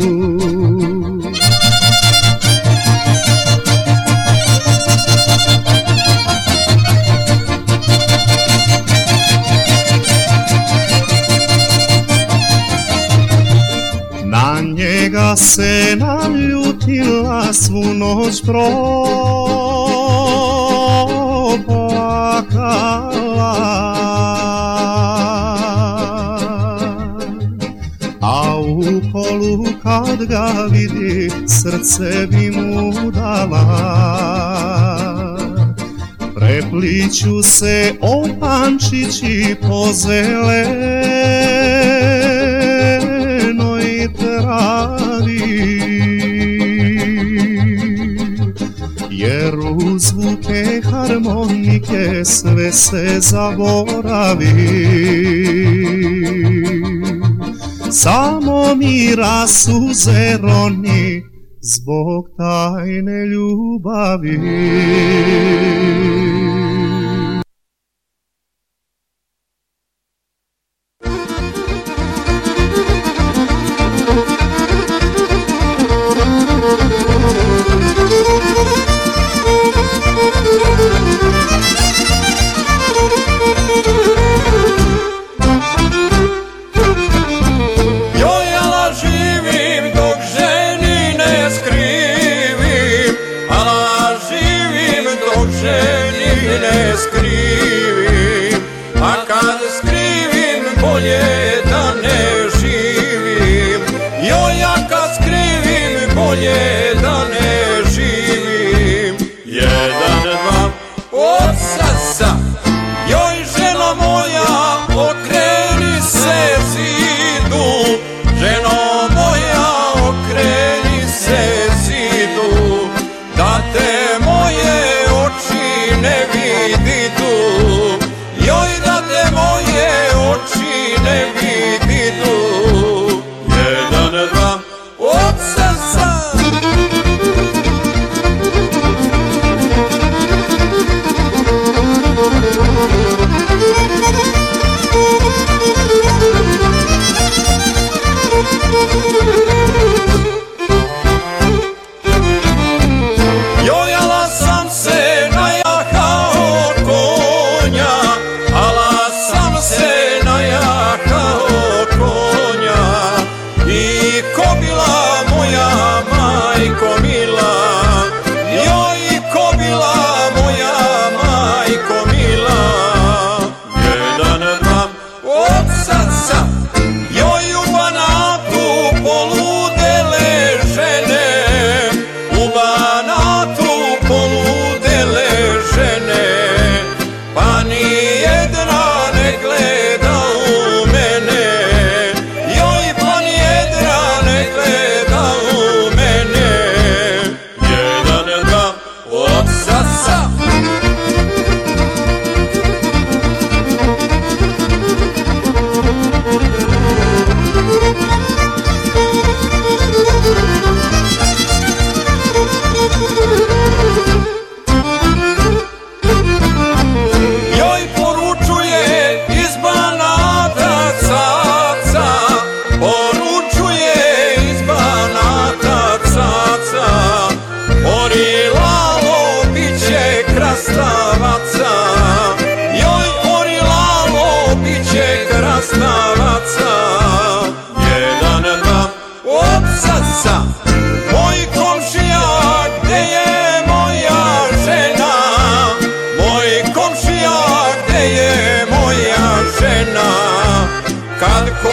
I: Na njega se naljutila, svu noć proplakala, a u kolu kad ga vidi, srce bi mu dala. Prepliću se opančići po zelenoj travi, jer u zvuke harmonike sve se zaboravi. Samo mira suze roni zbog tajne ljubavi.
D: Bolje da ne živim, joj ja kad skrivim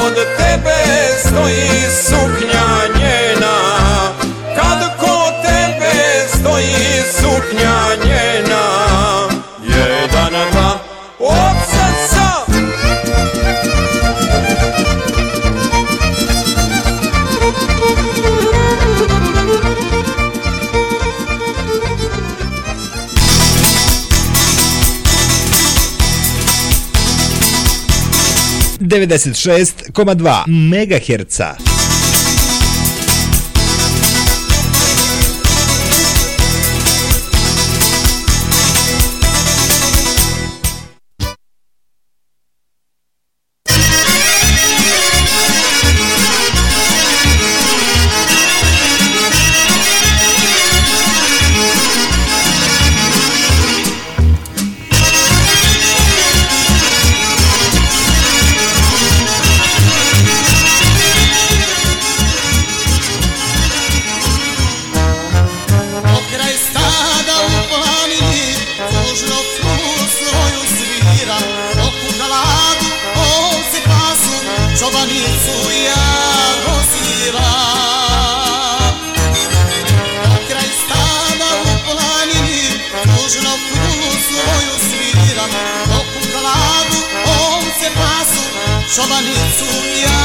D: kod tebe stoji suknja njena, kad kod tebe stoji suknja njena, jedan, dva, opsasa.
B: devedeset šest zarez dva megaherca.
L: Šobanicu ja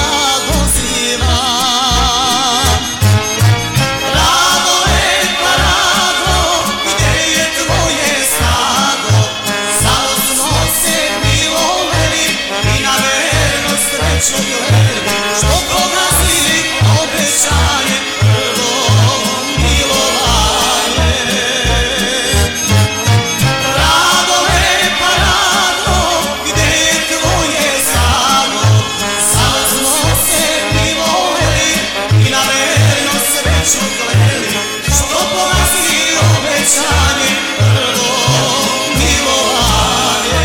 L: dozivam. Rado, lepa Rado, gdje je tvoje stado? Samo smo se milovali i na verno sreću gledali, što pogazili obećanje prvo milovanje. Rado, lepa Rado, gdje je tvoje stado? Samo smo se milovali i na verno sreću gledali, što pogazili obećanje prvo milovanje.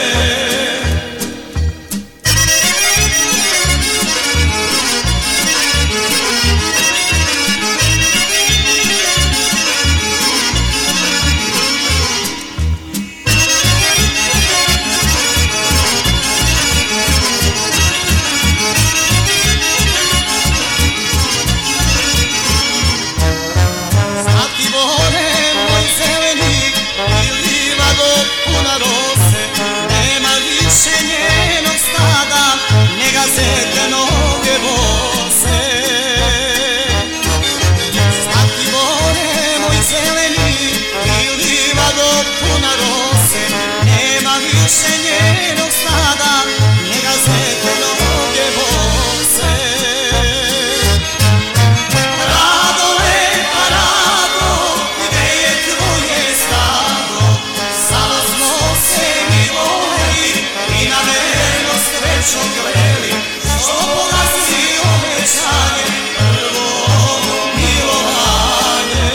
L: Slatki bore moj zelenik i livado puna rose, nema više njenog stada, njega zete noge bose. Slatki bore moj zelenik i livado puna rose, nema više njenog stada, njega zete noge bose. Rado, lepa Rado, gdje je tvoje stado? Samo smo se milovali i na verno sreću gledali, što pogazili obećanje prvo milovanje.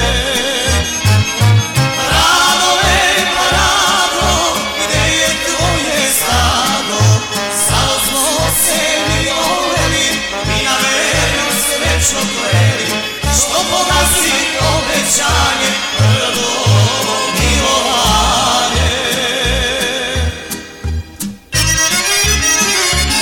L: Rado, lepa Rado, gdje je tvoje stado? Samo smo se milovali i na verno sreću gledali, što pogazili obećanje prvo milovanje.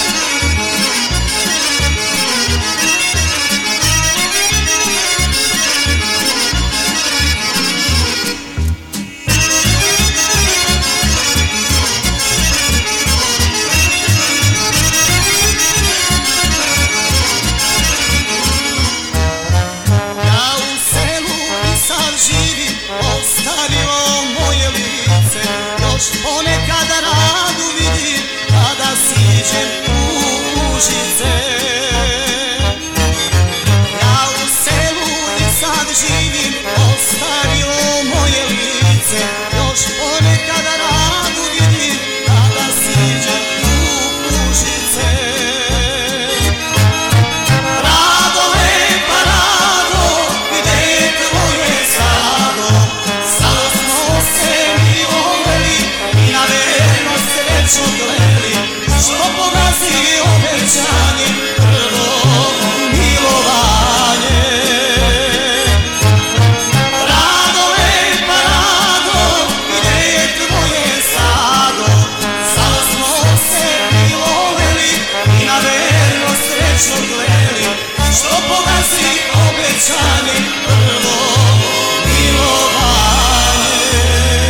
L: mi prvo milovanje.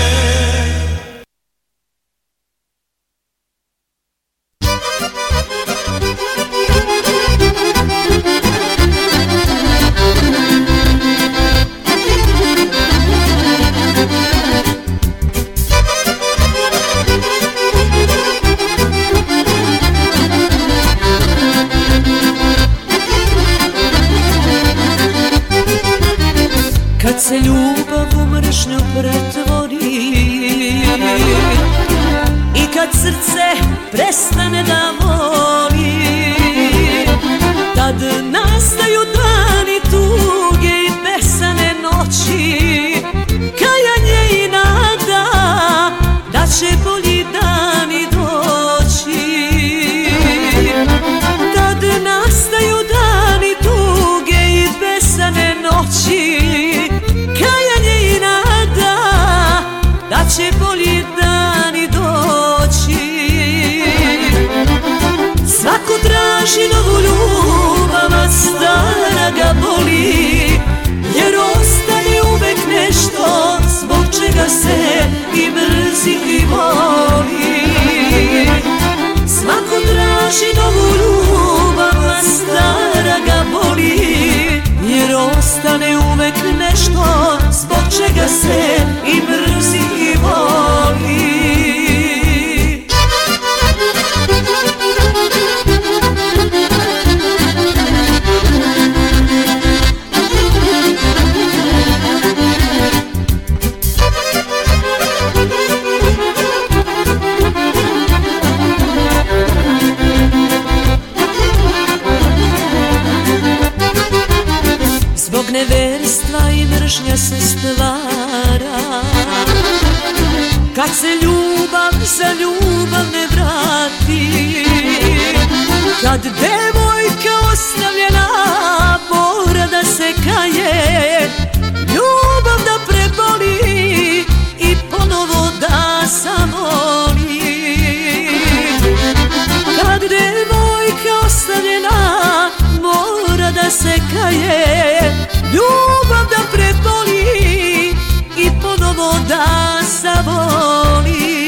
K: Kad se ljubav u mržnju pretvori i kad srce prestane da voli, tad nastaju dani tuge i besane noći, kajanje i nada da će bolji dani doći. Tad nastaju dani tuge i besane noći, kajanje i nada da će bolji dani doći. Svako traži novu ljubav, a stara ga boli, jer ostane uvek nešto zbog čega se i mrzi i voli. Svako traži novu ljubav, a stara ga boli, jer ostane uvek nešto zbog čega se i mrzi i voli. Zbog neverstva i mržnja se stvara, kad se ljubav za ljubav ne vrati, kad devojka ostavljena mora da se kaje, ljubav da preboli i ponovo da zavoli. Kad devojka ostavljena mora da se kaje, ljubav da preboli i ponovo da zavoli.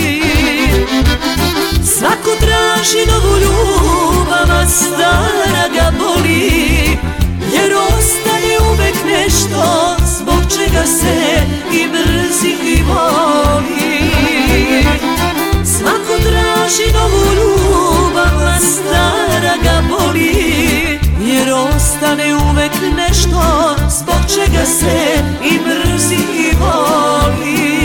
K: Svako traži novu ljubav, a stara ga boli, jer ostane uvek nešto zbog čega se i mrzi i voli. Svako traži novu ljubav, a stara ga boli, jer ostane uvek nešto zbog čega se i mrzi i voli.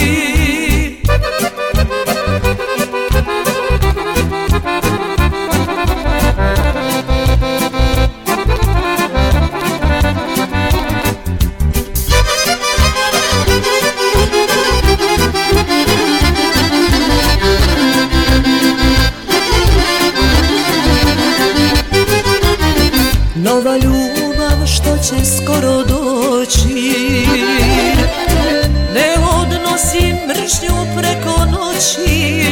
K: Nova ljubav što će skoro doći ne odnosi mržnju preko noći.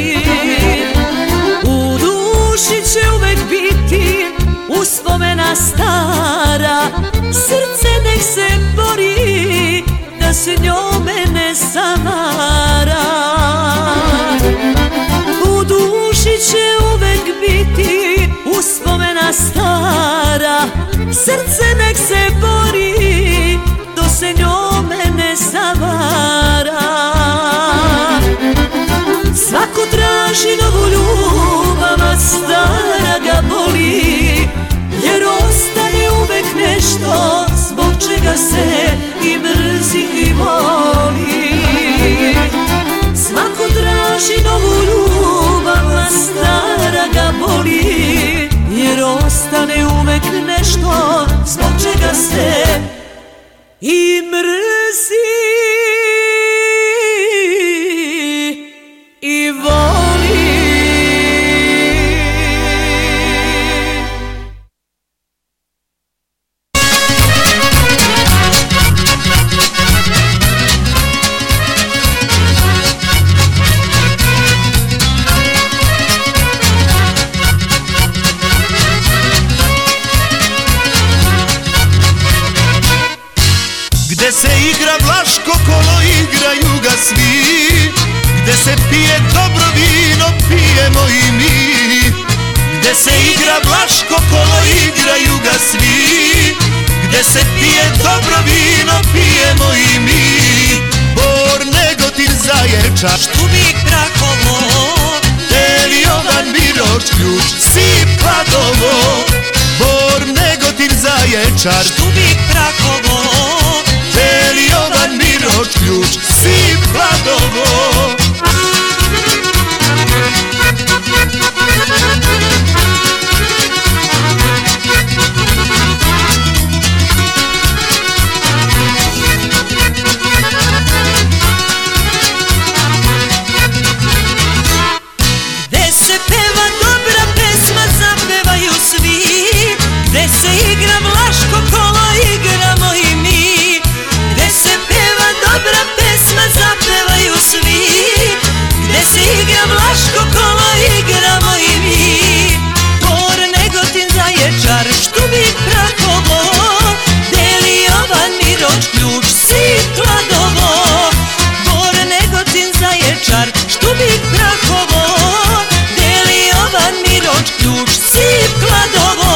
K: U duši će uvek biti uspomena stara, srce nek se bori da se njome ne zamara. U duši će uvek biti uspomena stara, srce nek se bori da se njome ne zavara. Svako traži novu ljubav, a stara ga boli, jer ostane uvek nešto zbog čega se i mrzi i voli. Svako traži novu ljubav, a stara ga boli, jer ostane uvek nešto zbog čega se i mrzi i voli.
M: se pije dobro vino, pijemo i mi. Gde se igra Vlaško kolo, igraju ga svi. Gde se pije dobro vino, pijemo i mi. Bor, Negotin, Zaječar,
K: Štubik, Prahovo,
M: Beli Jovan, Miroč, Ključ, Sip, Kladovo. Bor, Negotin, Zaječar,
K: Štubik, Prahovo,
M: Beli Jovan, Miroč, Ključ, Sip, Kladovo.
K: gde se peva dobra pesma, zapevaju svi. Gde se igra Vlaško kolo, igramo i mi. Gde se peva dobra pesma, zapevaju svi. Gde se igra Vlaško kolo, igramo i mi. Bor, Negotin, Zaječar, Štubik, Prahovo, Beli Jovan, Miroč, Ključ, Sip, Kladovo. Bor, Negotin, Zaječar, Štubik, Prahovo, Beli Jovan, Miroč, Ključ, Sip, Kladovo.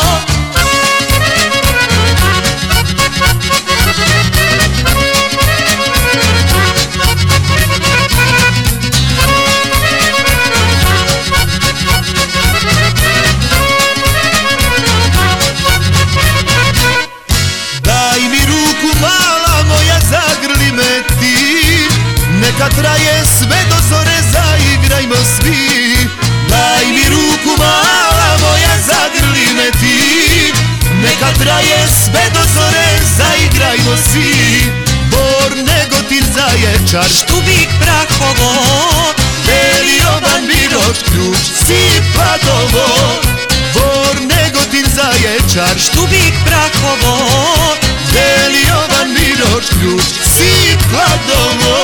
M: Daj mi ruku mala moja, zagrli me ti. Neka traje sve do zore, zaigrajmo svi. Daj mi ruku mala moja, zagrli me ti. Neka traje sve do zore, zaigrajmo svi. Bor, Negotin, Zaječar,
K: Štubik, Prahovo,
M: Beli Jovan, Miroč, Ključ, Sip, Kladovo. Bor, Negotin, Zaječar,
K: Štubik, Prahovo,
M: Beli Jovan, Miroč, Ključ, Sip, Kladovo.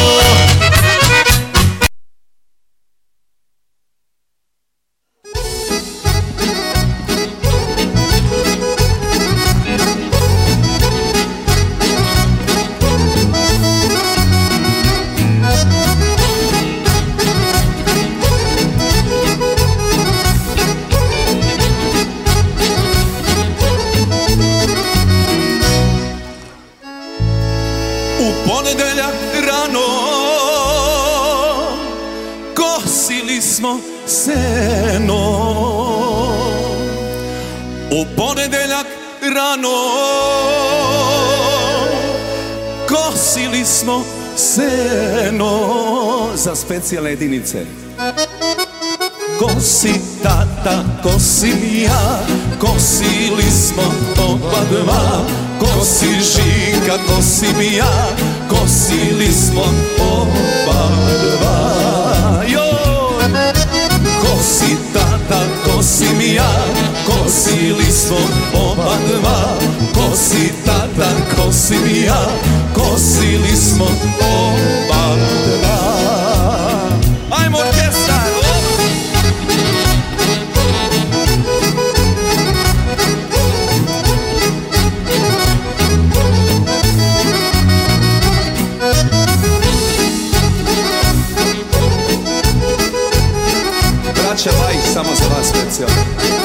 N: U ponedeljak rano kosili smo seno. U ponedeljak rano kosili smo seno. Za specijalne jedinice. Kosi tata, kosim ja, kosili smo oba dva. Kosi Žika, kosim ja, kosili smo oba dva. Joj! Kosi tata, kosim ja, kosili smo oba dva. Kosi tata, kosim ja, kosili smo oba dva. Ajmo orkestar! Braća Bajić, samo za vas specijalno.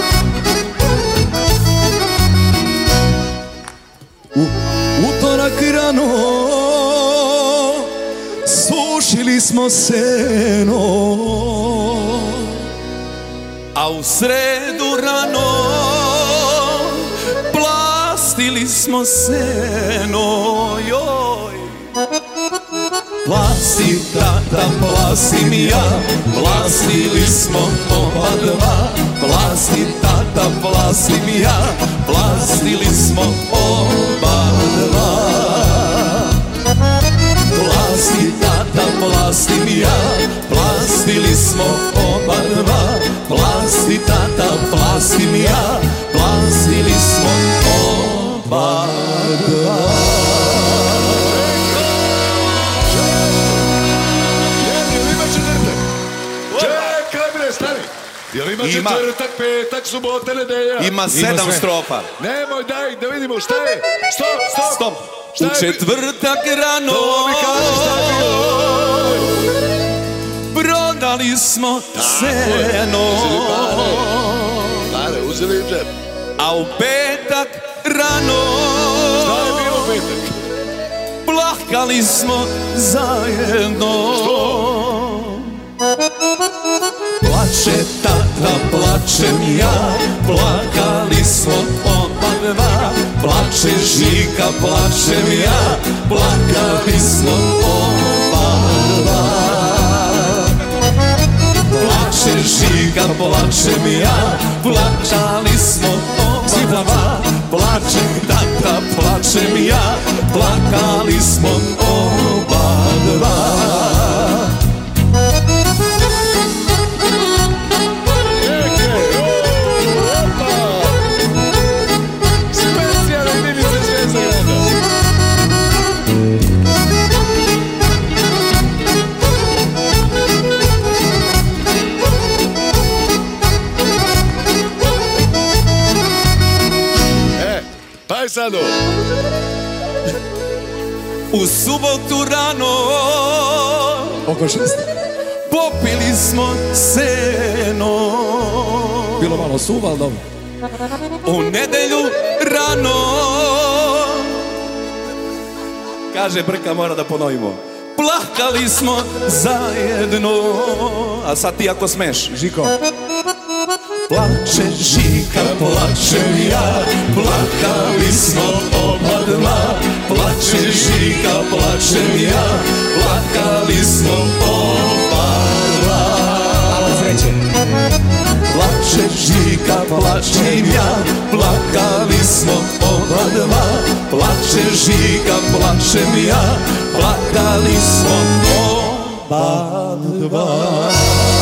N: U utorak rano sušili smo seno, a u sredu rano plastili smo seno. Joj! Plasti tata, plastim ja, plastili smo oba dva. Plasti tata, plastim ja, plastili smo oba dva. Plasti tata, plastim ja, plastili smo oba dva. Plasti tata, plastim ja, plastili smo oba dva.
F: Jel ima
N: Ima.
F: četvrtak, petak, subota, nedelja?
N: Ima sedam
F: sve.
N: strofa.
F: Nemoj, daj, da vidimo šta je. Stop, stop.
N: Stop.
F: Šta
N: U
F: je?
N: četvrtak rano
F: To mi kaže šta je bilo.
N: Plakali smo seno.
F: Pare, uzeli im džep.
N: A u petak rano.
F: Šta je bilo u petak?
N: Plakali smo zajedno.
F: Što?
N: Plače tata, plačem ja, plakali smo oba dva. Plače Žika, plačem ja, plakali smo oba dva. Plače Žika, plačem ja, plačali smo oba dva. Plače tata, plačem ja, plakali smo oba dva.
F: Sado.
N: U subotu rano
F: oko šest
N: popili smo seno.
F: Bilo malo suva, ali dobro.
N: U nedelju rano, kaže Brka, mora da ponovimo, plakali smo zajedno. A sad ti ako smeš,
F: Žiko.
N: Plače Žika, plačem ja, plakali smo oba dva. Plače Žika, plačem ja, plakali smo oba dva. Plače Žika, plačem ja, plakali smo oba dva. Plače Žika, plačem ja, plakali smo oba dva.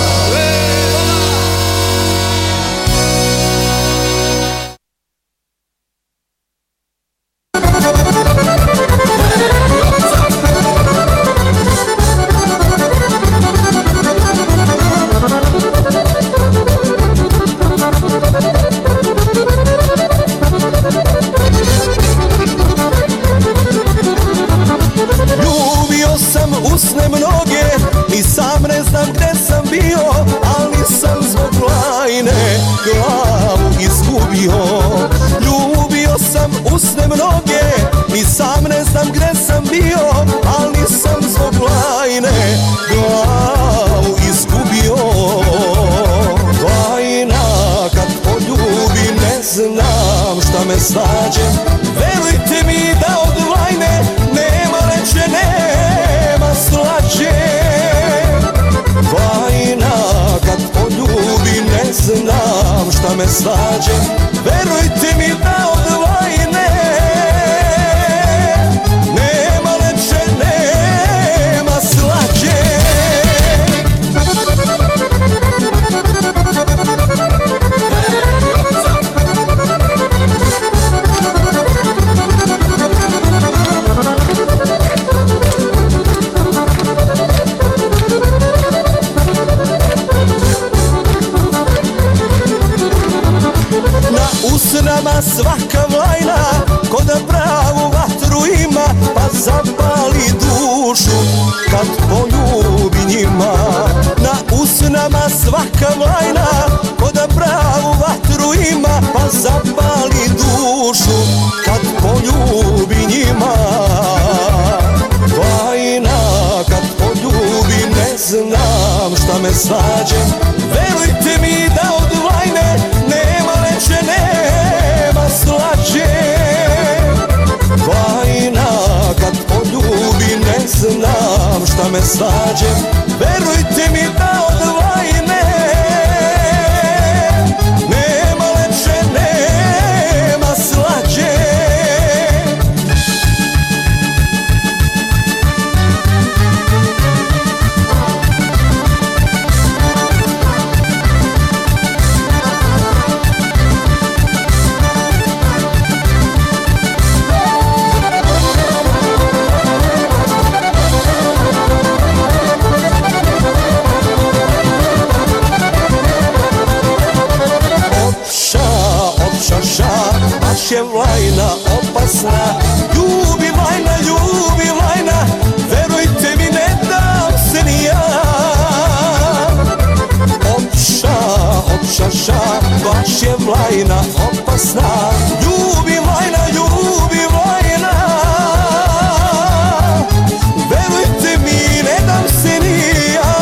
D: Usne mnoge, ni sam ne znam gde sam bio, ali sam zbog lajne glavu izgubio. Ljubio sam usne mnoge, ni sam ne znam gde sam bio, ali sam zbog lajne glavu izgubio. Lajna kad poljubi ne znam šta me snađe, verujte mi da od lajne nema reče, nema slađe. Vajna kad poljubi ne znam šta me slađe, verujte mi da od vajne nema leče, nema slađe. Usnama svaka vlajna, ko da pravu vatru ima, pa zapali dušu kad poljubi njima. Na usnama svaka vlajna, ko da pravu vatru ima, pa zapali dušu kad poljubi njima. Vlajna kad poljubi ne znam šta me slađe, verujte mi da od vlajne nema leče, nema slađe. Vajna kad poljubi ne znam šta me slađe, verujte mi da od vajne nema leče, nema slađe. godina opasna. Ljubi Vajna, ljubi Vajna, verujte mi, ne dam se ni ja.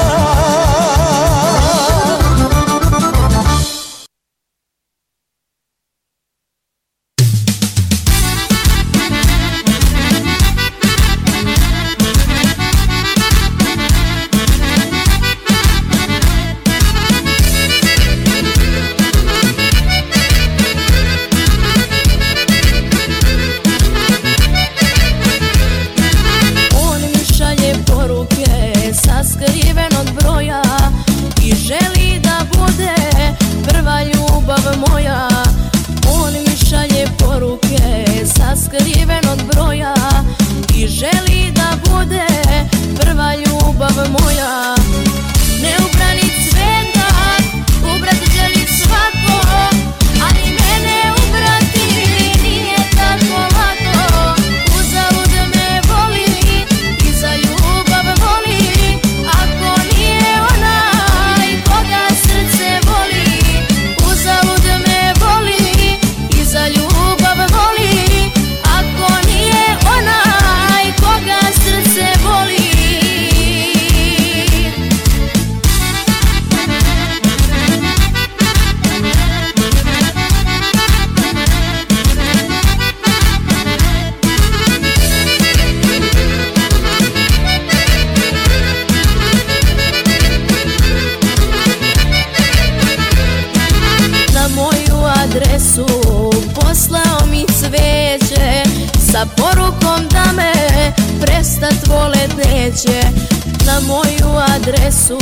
O: Na moju adresu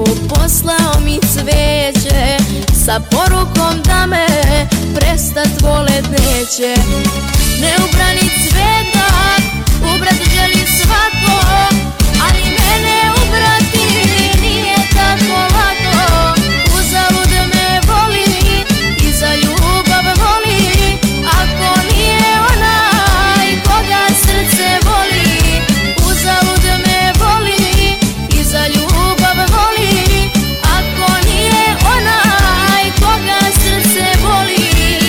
O: poslao mi cveće sa porukom da me prestat volet neće. Neubrani cvetak ubrat želi svako, ali mene ubrati nije tako lako. Uzalud me voli i za ljubav voli, ako nije onaj koga srce voli. Uzalud me voli i za ljubav voli, ako nije onaj koga srce voli.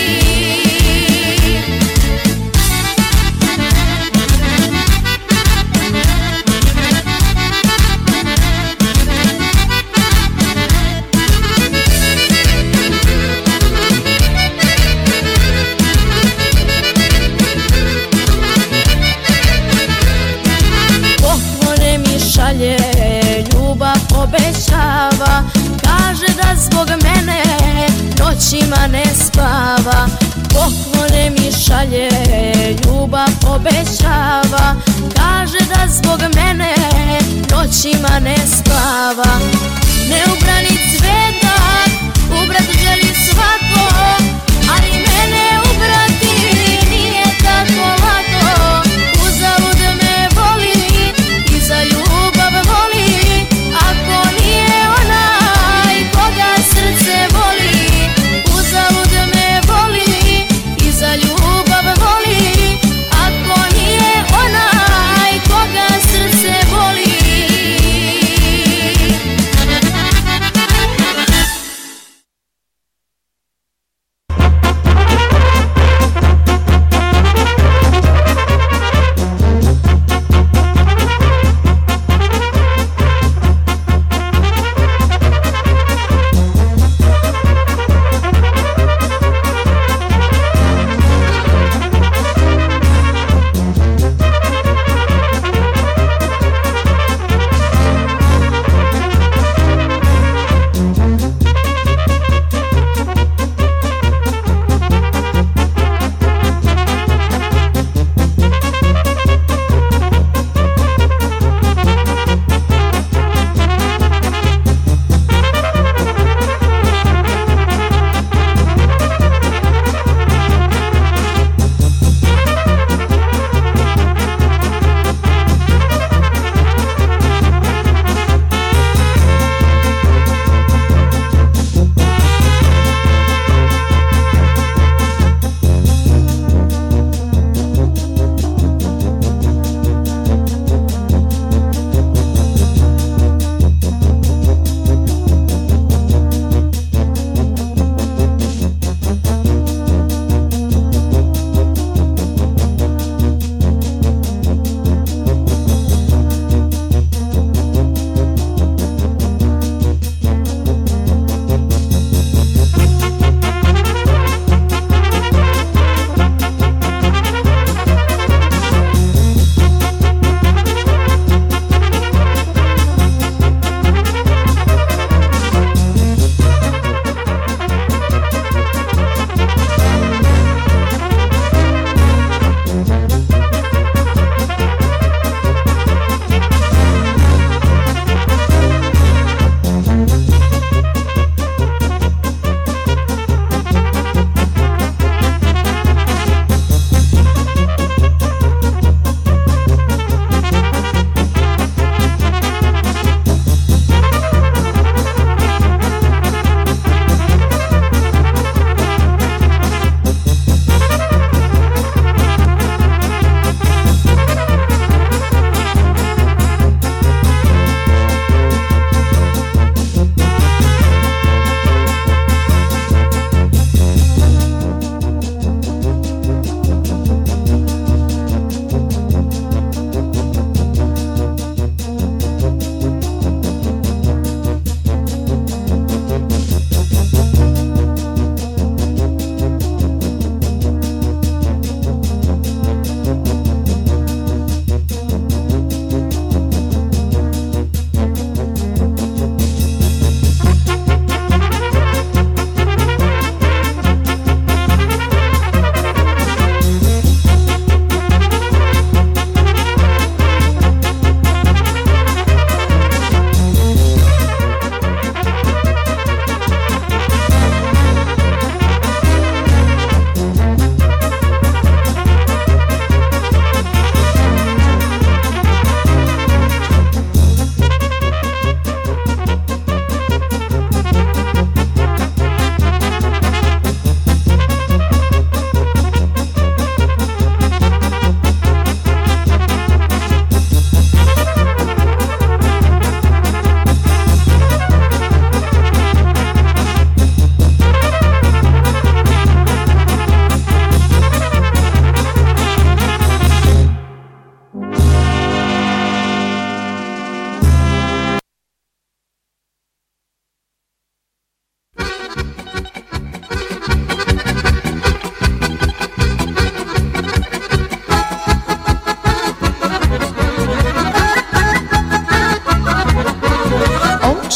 O: Poklone mi šalje, ljubav obećava, kaže da zbog mene noćima ne spava. Poklone mi šalje, ljubav obećava, kaže da zbog mene noćima ne spava. Neubrani cvetak ubrat želi svako, ali mene ubrati nije tako lako. Uzalud me voli i za ljubav voli, ako nije onaj koga srce voli. Uzalud me voli i za ljubav voli, ako nije onaj koga srce voli.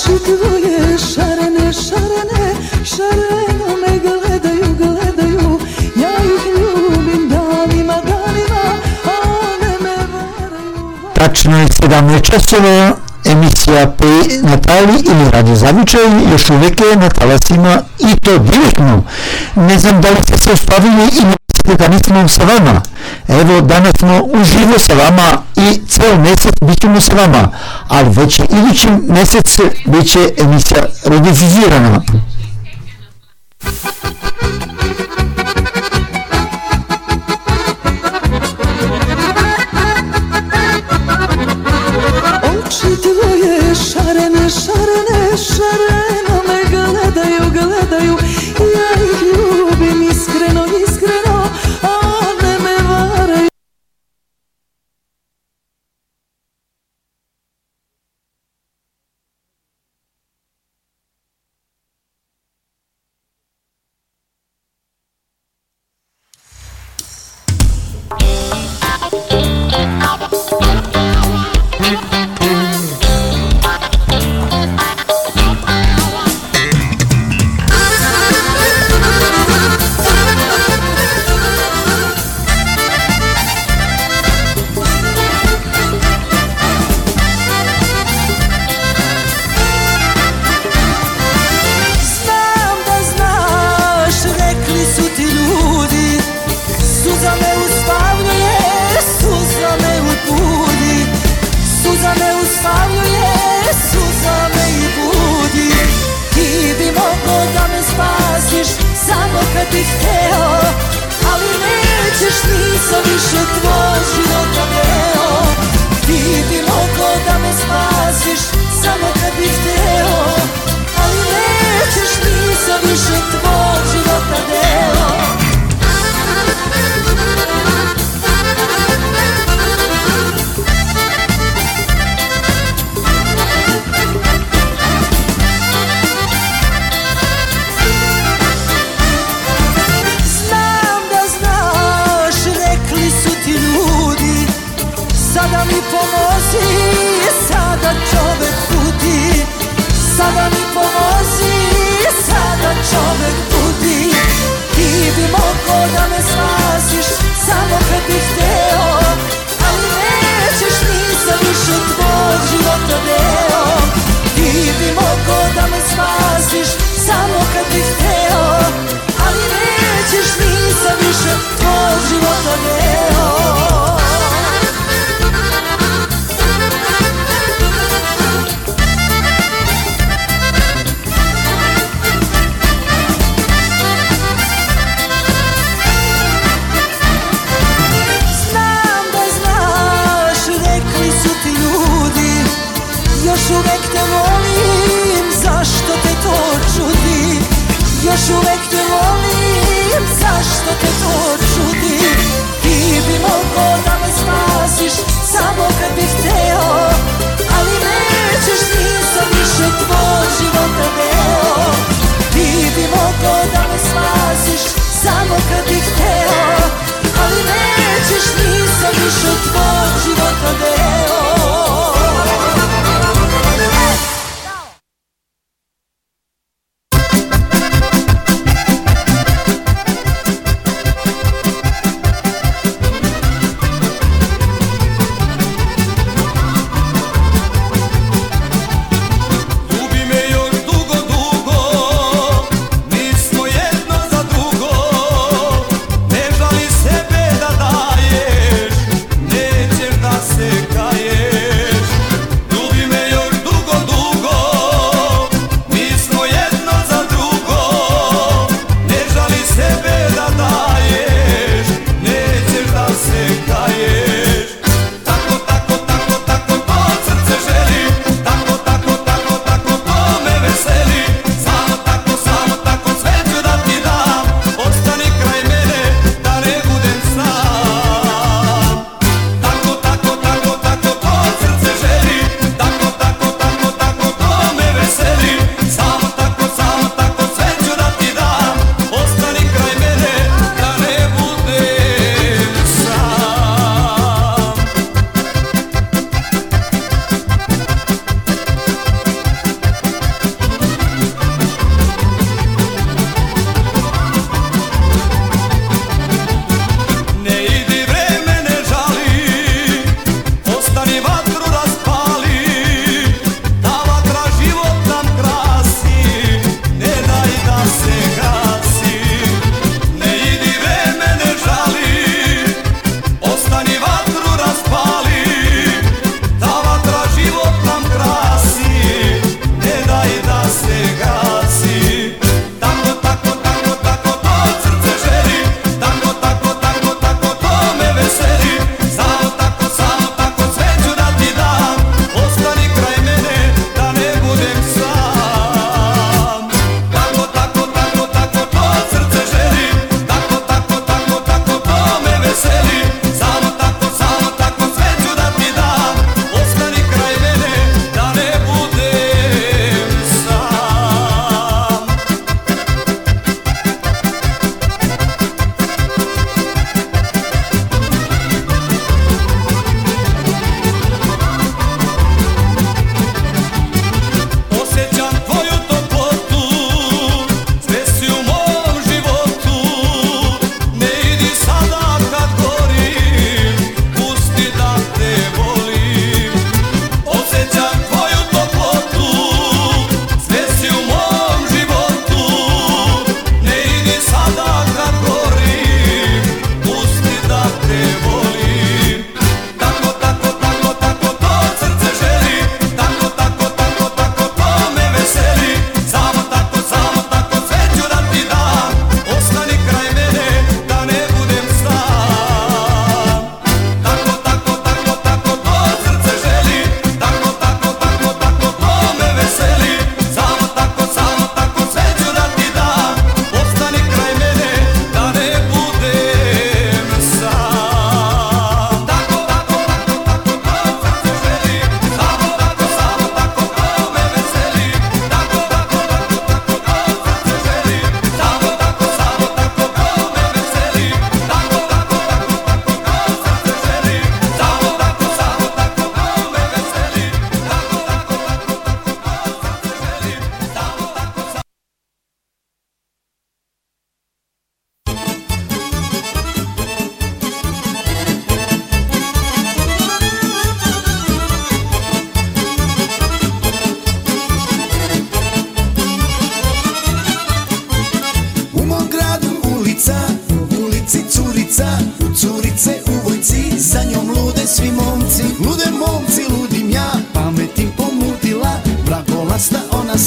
D: Oči tvoje šarene, šarene, šareno me gledaju, gledaju. Ja ih ljubim danima, danima, a one me varaju.
C: Tačno je sedamnaest časova, emisija P. Natali ili Radio Zavičaj još uvijek je na talasima i to direktno. Ne znam da li ste se uspavili i mislite da nismo sa vama. Evo, danas smo uživo sa vama i ceo mjesec bit ćemo sa vama, ali već idući mjesec bit će emisija redifuzirana.
D: Oči tvoje šarene, šarene, šareno me gledaju, gledaju. Ja ih ljubim iskreno, iskreno, a one me varaju.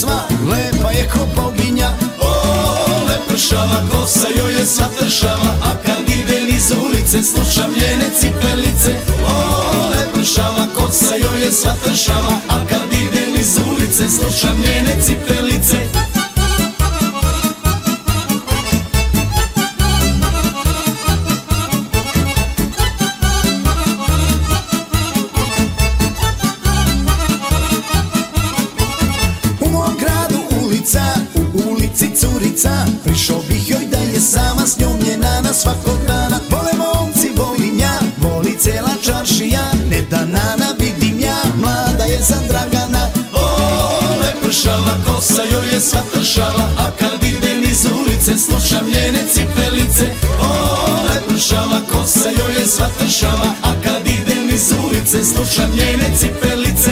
M: sva, lepa je ko boginja. O, lepršava kosa joj je sva tršava, a kad ide niz ulice slušam njene cipelice. O, lepršava kosa joj je sva tršava, a kad ide niz ulice slušam njene cipelice. Prišao bih joj da je sama, s njom je nana svakog dana. Vole momci, volim ja, voli cela čaršija, ne da nana vidim ja, mlada je za Dragana. O, lepršava kosa joj je sva tršava, a kad ide niz ulice slušam njene cipelice. O, lepršava kosa joj je sva tršava, a kad ide niz ulice slušam njene cipelice.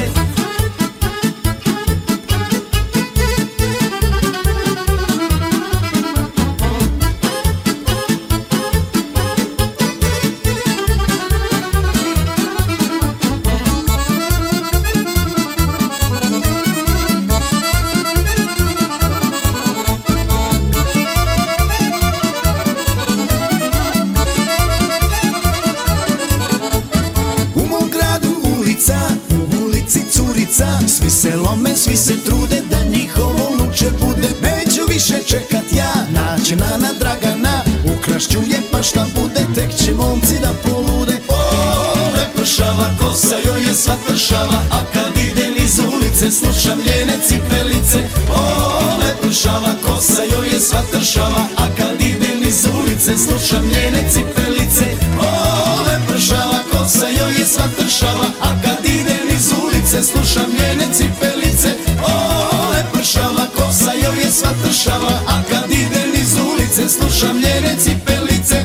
M: Svi se lome, svi se trude da njihovo luče bude. Neću više čekat ja, naći nana Dragana, ukrašću je pa šta bude, tek će momci da polude. O, lepršava kosa joj je sva tršava, a kad ide niz ulice slušam njene cipelice. O, lepršava kosa joj je sva tršava, a kad ide niz ulice slušam njene cipelice. O, lepršava kosa joj je sva tršava, a kad ide niz ulice slušam njene cipelice. O, lepršava kosa joj je sva tršava, a kad ide niz ulice slušam njene cipelice.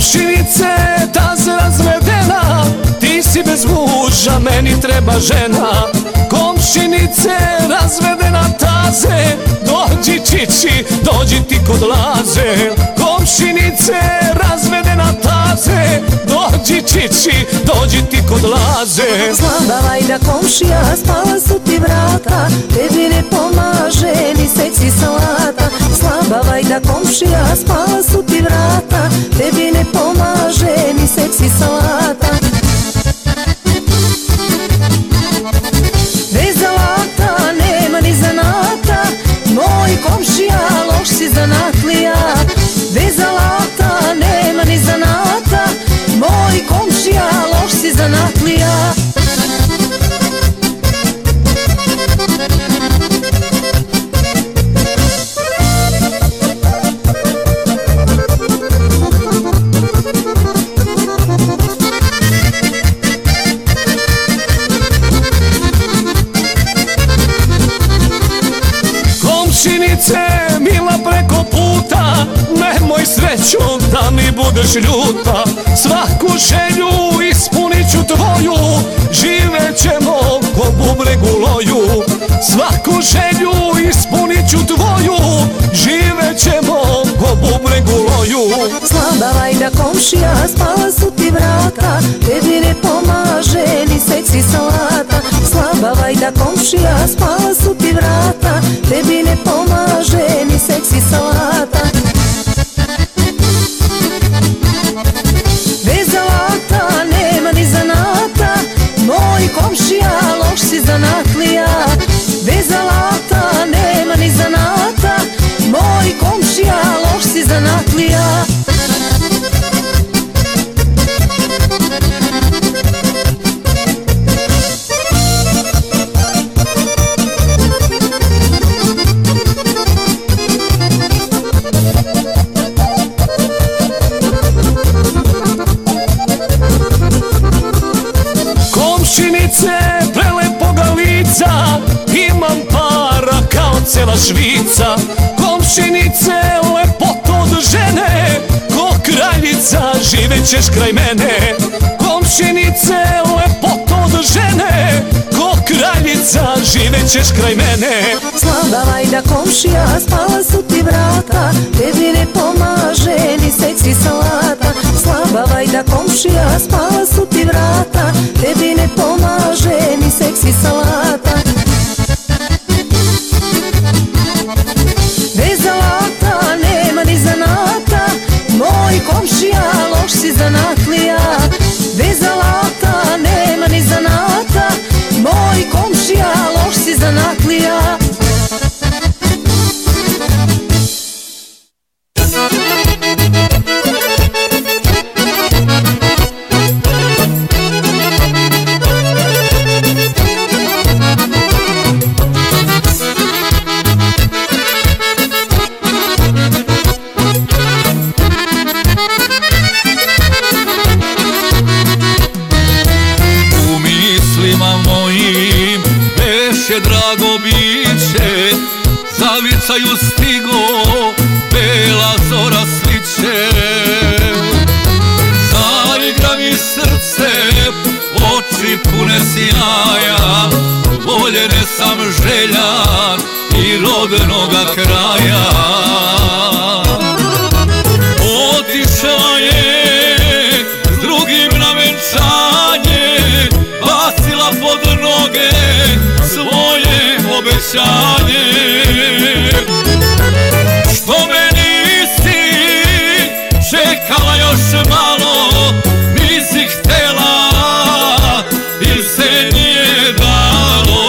D: Komšinice, taze razvedena, ti si bez muža, meni treba žena. Komšinice, razvedena taze, dođi čiči, dođi ti kod Laze. Komšinice, razvedena taze, dođi čiči, dođi ti kod Laze.
P: Slaba vajda komšija, spala su ti vrata, tebi ne pomaže ni seci salata. Slaba vajda komšija, spala su ti vrata, tebi ne pomaže ni seci salata. Bez alata nema ni zanata, moj komšija loš si zanatlija. Bez alata nema ni zanata, moj komšija loš si zanatlija.
D: Komšinice, mila preko puta, nemoj srećom da mi budeš ljuta. Svaku želju ispunit ću tvoju, živet ćemo ko bubreg u loju. Svaku želju ispunit ću tvoju, živet ćemo ko bubreg u loju.
P: Slaba vajda komšija, spala su ti vrata, tebi ne pomaže ni seci salata. Slaba vajda komšija, spala su ti vrata, tebi ne pomaže ni seci salata. Bez alata nema ni zanata, moj komšija loš si zanatlija. Bez alata nema ni zanata, moj komšija loš si zanatlija.
D: Komšinice, prelepoga lica, imam para kao cela Švica. Komšinice, lepoto od žene, ko kraljica živet ćeš kraj mene. Komšinice, lepoto od žene, ko kraljica živet ćeš kraj mene.
P: Slaba vajda komšija, spala su ti vrata, tebi ne pomaže ni seci salata. Slaba vajda komšija, spala su ti vrata, tebi ne pomaže ni seksi salata. Bez alata nema ni zanata, moj komšija loš si zanatlija. Bez alata nema ni zanata, moj komšija loš si zanatlija.
Q: Drago biće, zavicaju stigo, bela zora sliče. Zaigra mi srce, oči pune sjaja, voljene sam željan i rodnoga kraja. Otišla je s drugim na venčanje, bacila pod noge svoje obećanje. Što me nisi čekala još malo, nisi htela ili se nije dalo.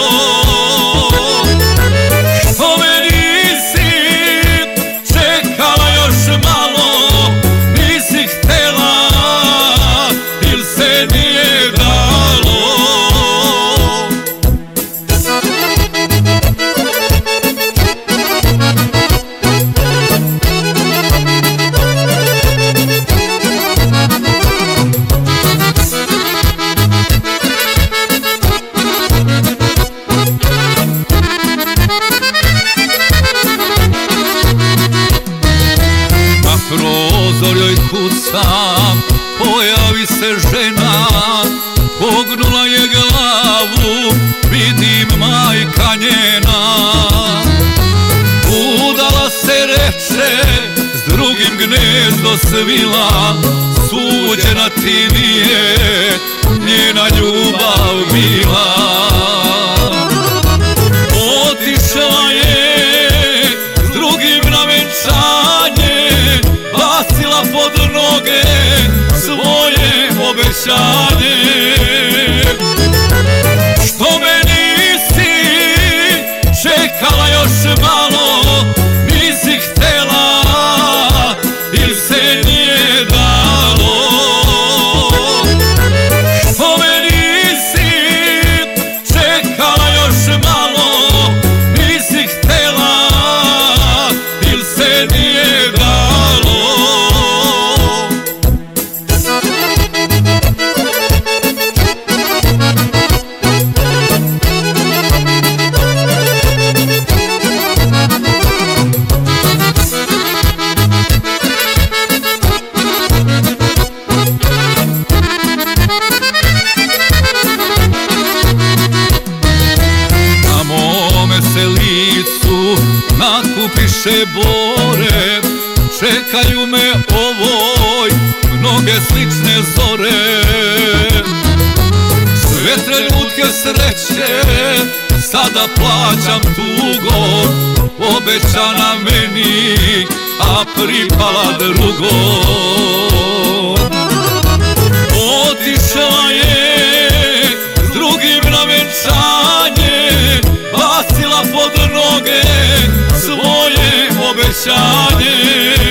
Q: Što me nisi čekala još malo, nisi htela ili se nije dalo. pojavi se žena, pognula je glavu, vidim majka njena. Udala se reče, s drugim gnezdo svila, suđena ti nije njena ljubav bila. Otišla je s drugim na venčanje, bacila pod noge svoje obećanje. Što me nisi čekala još malo, nisi htela ili se nije dalo. Što me nisi čekala još malo, nisi htela ili se nije dalo. Nakupiše bore, čekaju me ovoj mnoge slične zore. Sve trenutke sreće sada plaćam tugo, obećana meni, a pripala drugo. Otišla je s drugim na venčanje, bacila pod noge svoje obećanje.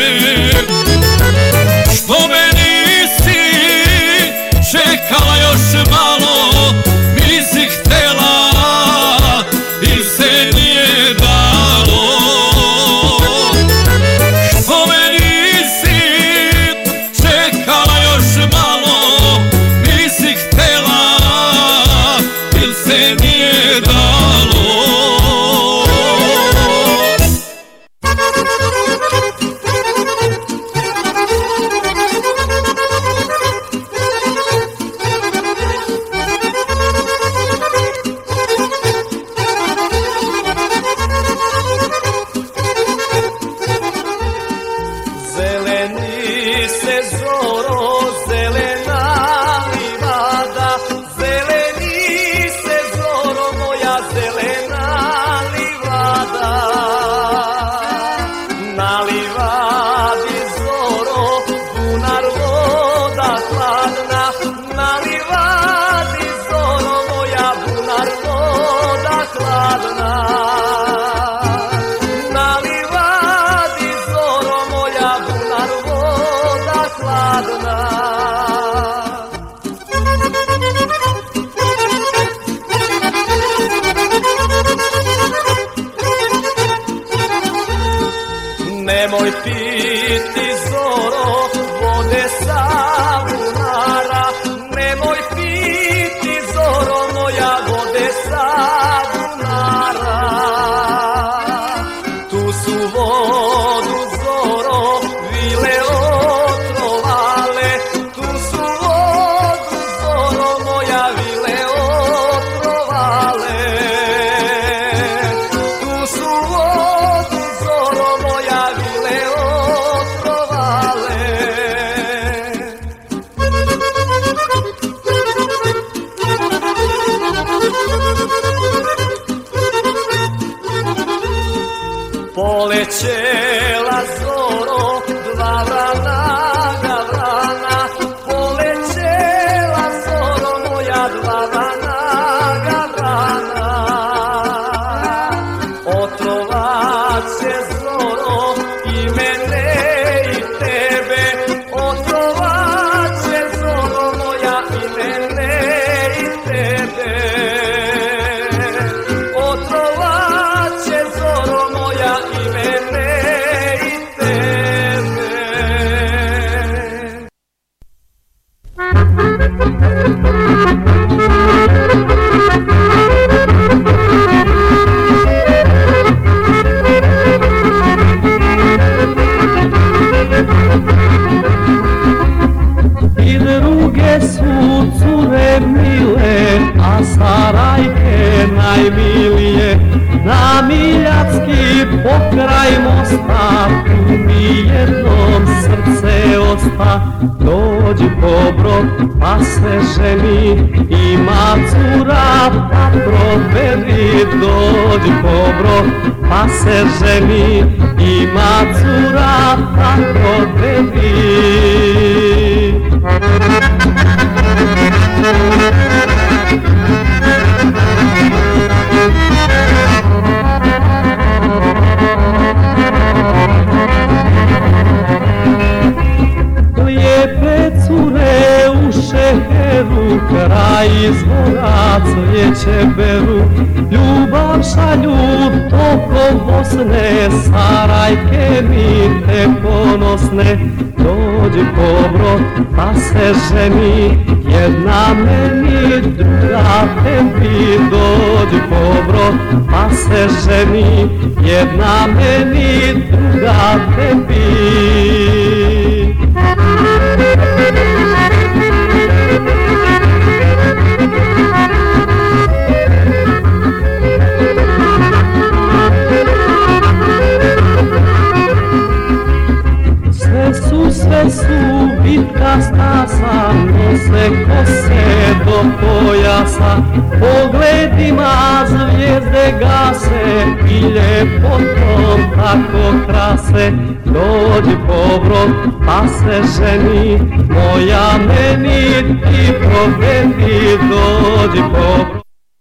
Q: Što me nisi čekala još malo, nisi htela ili se nije dalo. Što me nisi čekala još malo, nisi htela ili se nije dalo.
D: Nemoj piti zoro vode sa bunara, nemoj piti zoro moja vode sa bunara. Tu su vodu zoro vile otrovale, tu su vodu zoro moja vile otrovale. Tu su vodu zoro moja vile otrovale. Polećela zoro dva vrana gavrana, polećela zoro moja dva vrana gavrana. Otrovat će zoro i mene i tebe, otrovat će zoro moja i mene i tebe. Otrovat će zoro moja i mene pokraj mosta, tu mi jednom srce osta. Dođi pobrod, pa se ženi, ima cura, pa proveri. Dođi pobrod, pa se ženi, ima cura, pa proveri. Lijepe cure u šeheru, kraj izvora cvijeće beru. Ljubav šalju tokom Bosne, Sarajke mi te ponosne. Dođi pobrod, pa se ženi, jedna meni, druga tebi. Dođi pobrod, pa se ženi, jedna meni, druga tebi. Sve su, sve su bitka stasa, nose kose do pojasa. Pogledima zvijezde gase i ljepotom tako krase. Dođi pobrod, pa se ženi, moja meni ti provedi. Dođi pobrod.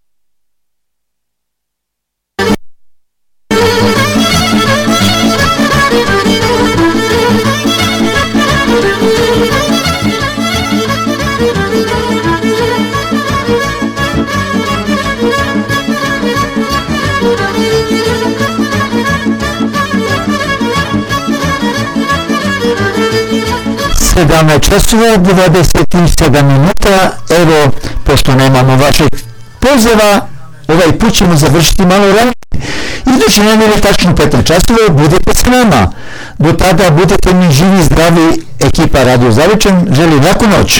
C: sedamnaest časova dvadeset sedam minuta. Evo, pošto nemamo vašeg poziva, ovaj put ćemo završiti malo ranije. Idući nedelje tačno petnaest časova budete s nama. Do tada budete mi živi, zdravi. Ekipa Radio Zavičan želi laku noć.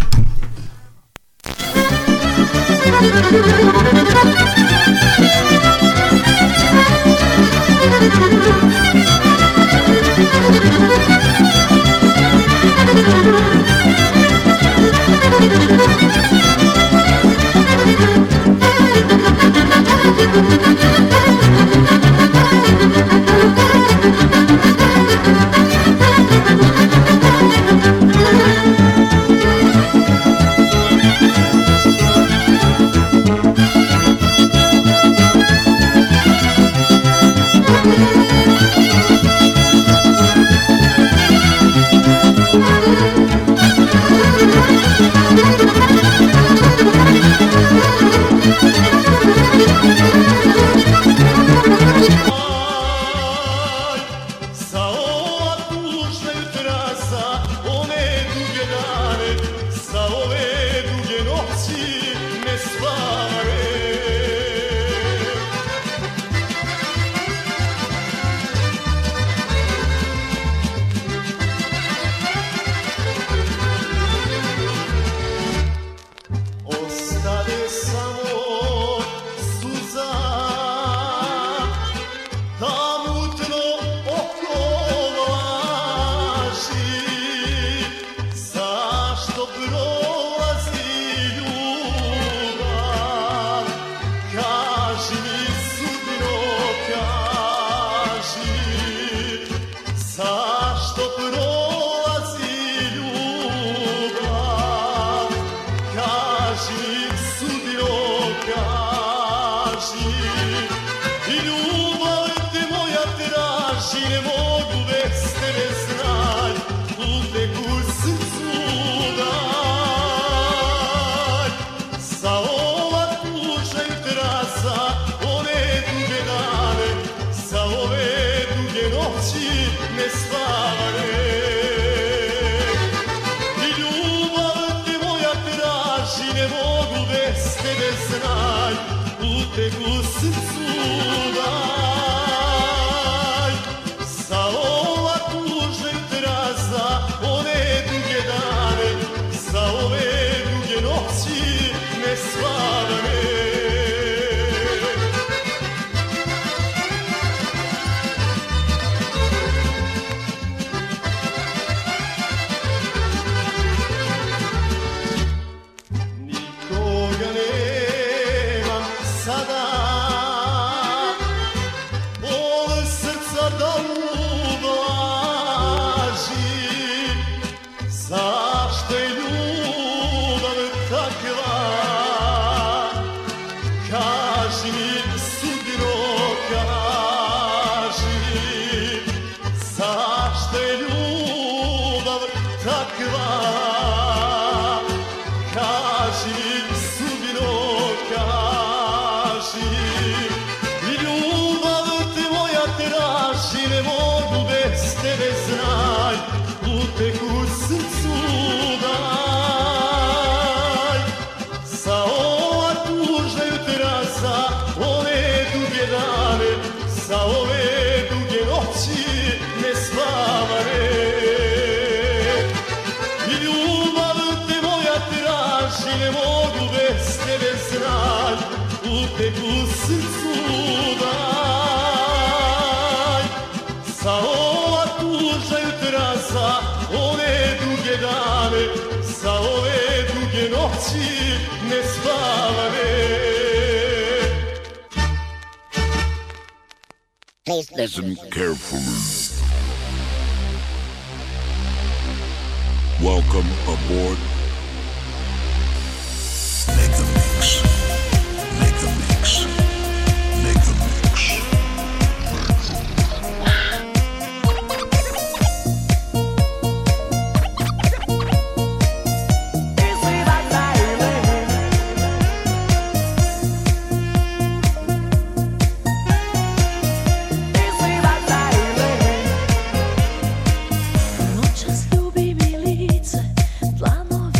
I: mene znaš, uteg u srcu daj. Sa ova tuža jutra, sa ove duge dane, sa ove duge noći nespavane.
R: Please listen carefully. Welcome aboard. Make a mix. Make a mix. Make a mix.
O: Noćas ljubi mi lice, dlanovi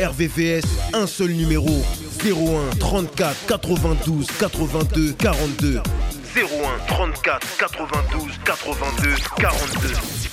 S: R V V S, un seul numéro, zéro un trente-quatre quatre-vingt-douze quatre-vingt-deux quarante-deux. zéro un trente-quatre quatre-vingt-douze quatre-vingt-deux quarante-deux.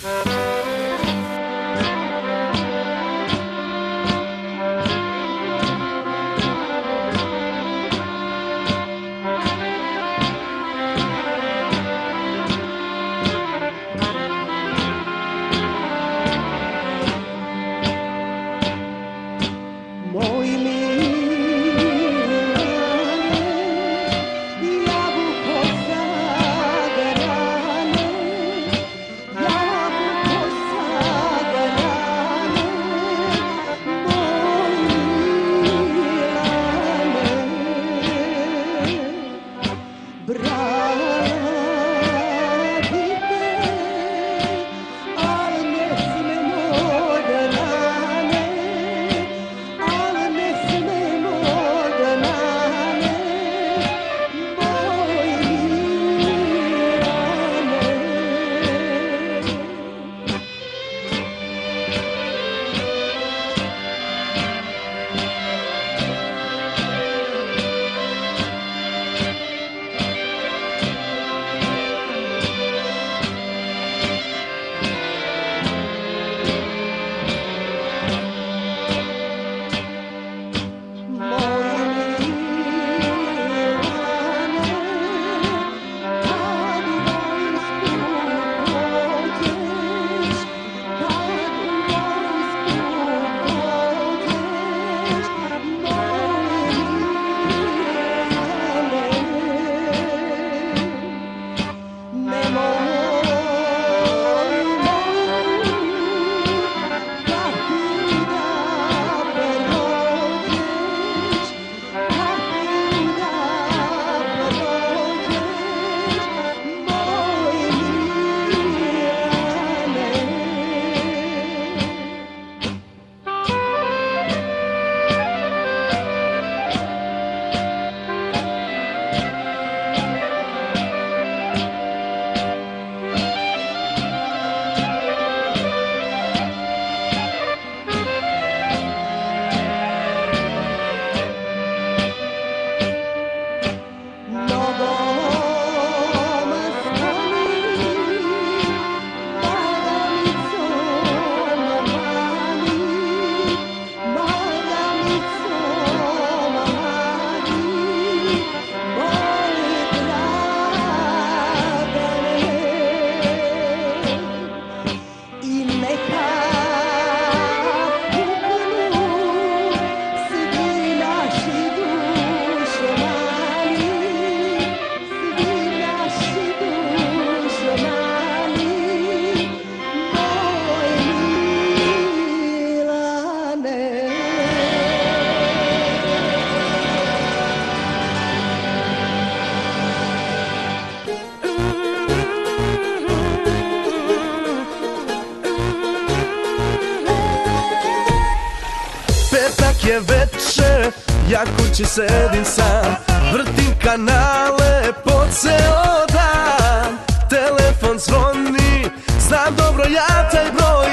D: je veče, ja kući sedim sam, vrtim kanale po ceo dan. Telefon zvoni, znam dobro ja taj broj,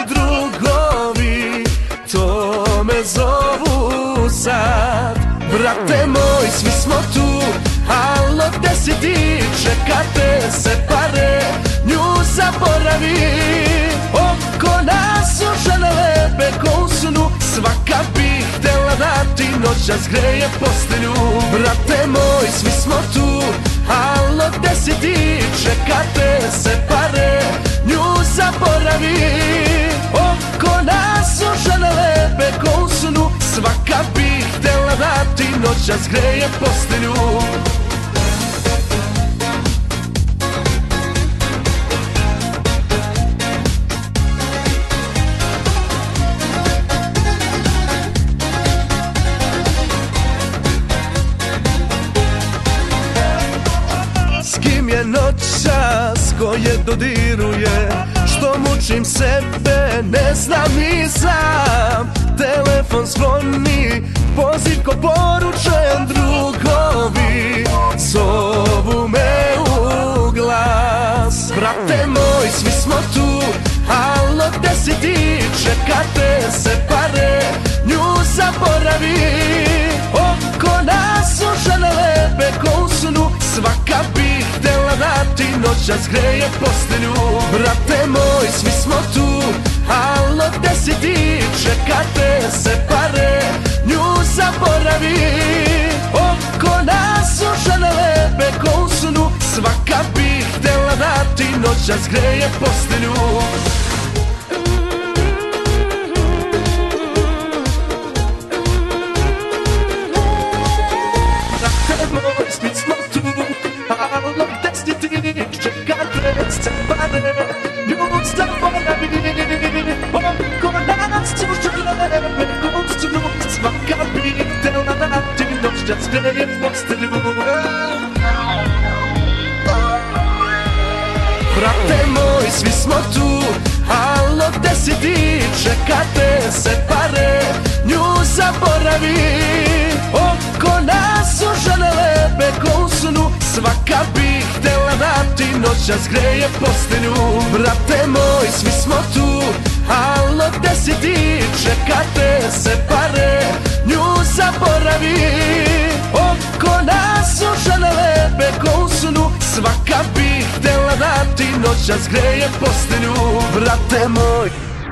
D: drugovi to me zovu sad. Brate moj, svi smo tu, alo gde si ti, čekate se pare, nju zaboravi. Oko nas su žene lepe ko u snu, svaka bi htela da ti noćas greje postelju. Brate moj, svi smo tu, alo gde si ti, čekate se pare, nju zaboravi. Oko nas su žene lepe ko u snu, svaka bi htela da ti noćas greje postelju. Noćas koje dodiruje, što mučim sebe, ne znam ni sam. Telefon zvoni, poziv ko poručen, drugovi zovu me u glas. Brate moj, svi smo tu, alo gde si ti, čekate se pare, nju zaboravim. zaboravi. Oko nas su žene lepe ko u snu, svaka bi htjela da ti noćas greje postelju. Brate moj, svi smo tu, alo gde si ti, čekate se pare, nju zaboravi. Oko nas su žene lepe ko u snu, svaka bi htjela da ti noćas greje postelju. Brate moj, svi smo tu, alo gde si ti, čekate se pare, nju zaboravi. Oko nas su žene lepe ko u snu, svaka bi htjela da ti noćas greje postelju. Brate moj, svi smo tu, alo gde si ti, čekate se pare, nju zaboravi. Oko nas su žene lepe ko u snu, svaka bi htjela da ti noćas greje postelju. Brate moj, svi smo tu, alo gde si ti, čekate se pare, nju zaboravi. Oko nas su žene lepe ko u snu, svaka bi htjela da ti noćas greje postelju. Brate moj.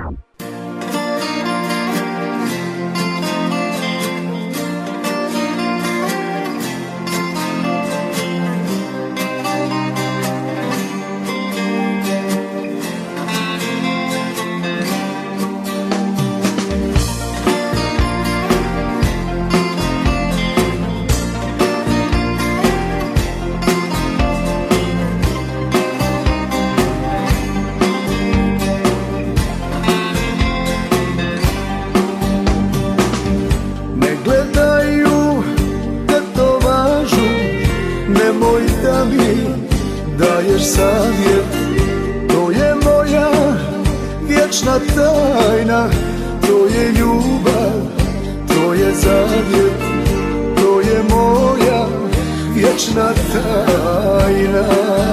T: Savjet, to je moja vječna tajna, to je ljubav, to je zavjet, to je moja vječna tajna.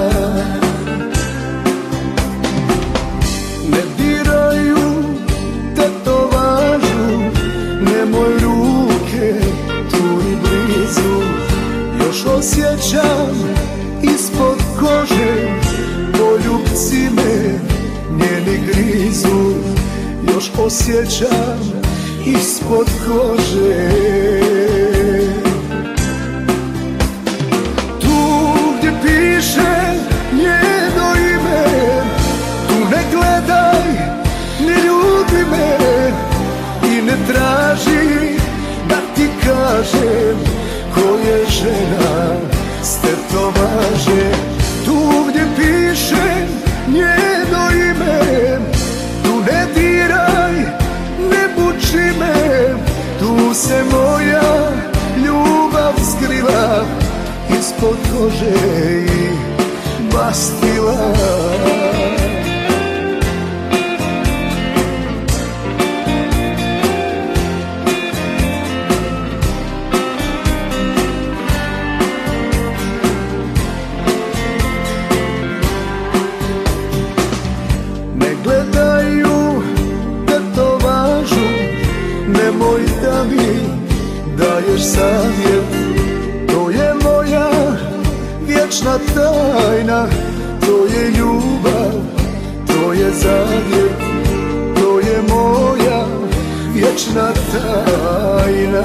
T: Ne diraju tetovažu, nemoj ruke tu i blizu, još osjećam ispod kože poljubci me njeni grizu, još osjećam ispod kože. Tu gdje piše njeno ime, tu ne gledaj, ne ljubi me i ne traži da ti kažem ko je žena s tetovaže. Tu gdje piše njeno ime, tu ne diraj, ne buči me, tu se moja ljubav skrila ispod kože i mastila. Nemoj da mi daješ savjet, to je moja vječna tajna, to je ljubav, to je zavjet, to je moja vječna tajna.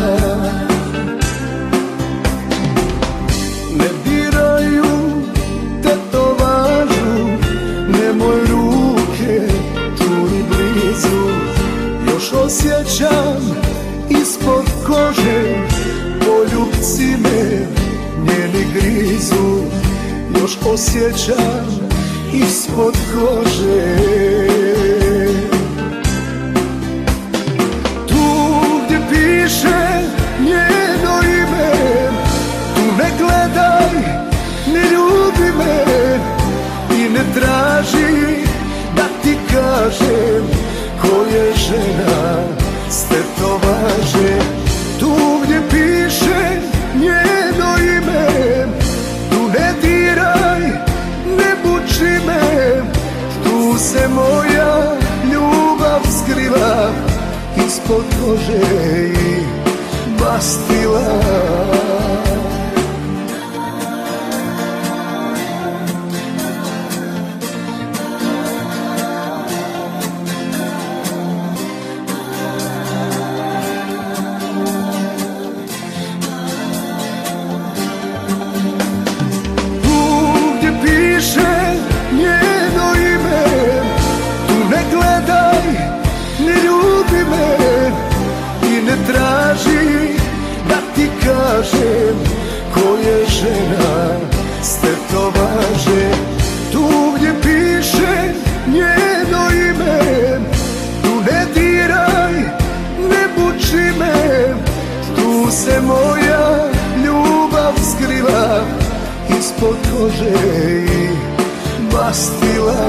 T: Ne diraju tetovažu, nemoj ruke tu i blizu, još osjećam ispod kože poljubci me njeni grizu, još osjećam ispod kože. Tu gdje piše njeno ime, tu ne gledaj, ne ljubi me i ne traži da ti kažem ko je žena s tetovaže. Tu gdje piše njeno ime, tu ne diraj, ne buči me, tu se moja ljubav skrila ispod kože i mastila. Traži da ti kažem ko je žena s tetovaže. Tu gdje piše njeno ime, tu ne diraj, ne buči me. Tu se moja ljubav skrila ispod kože i mastila.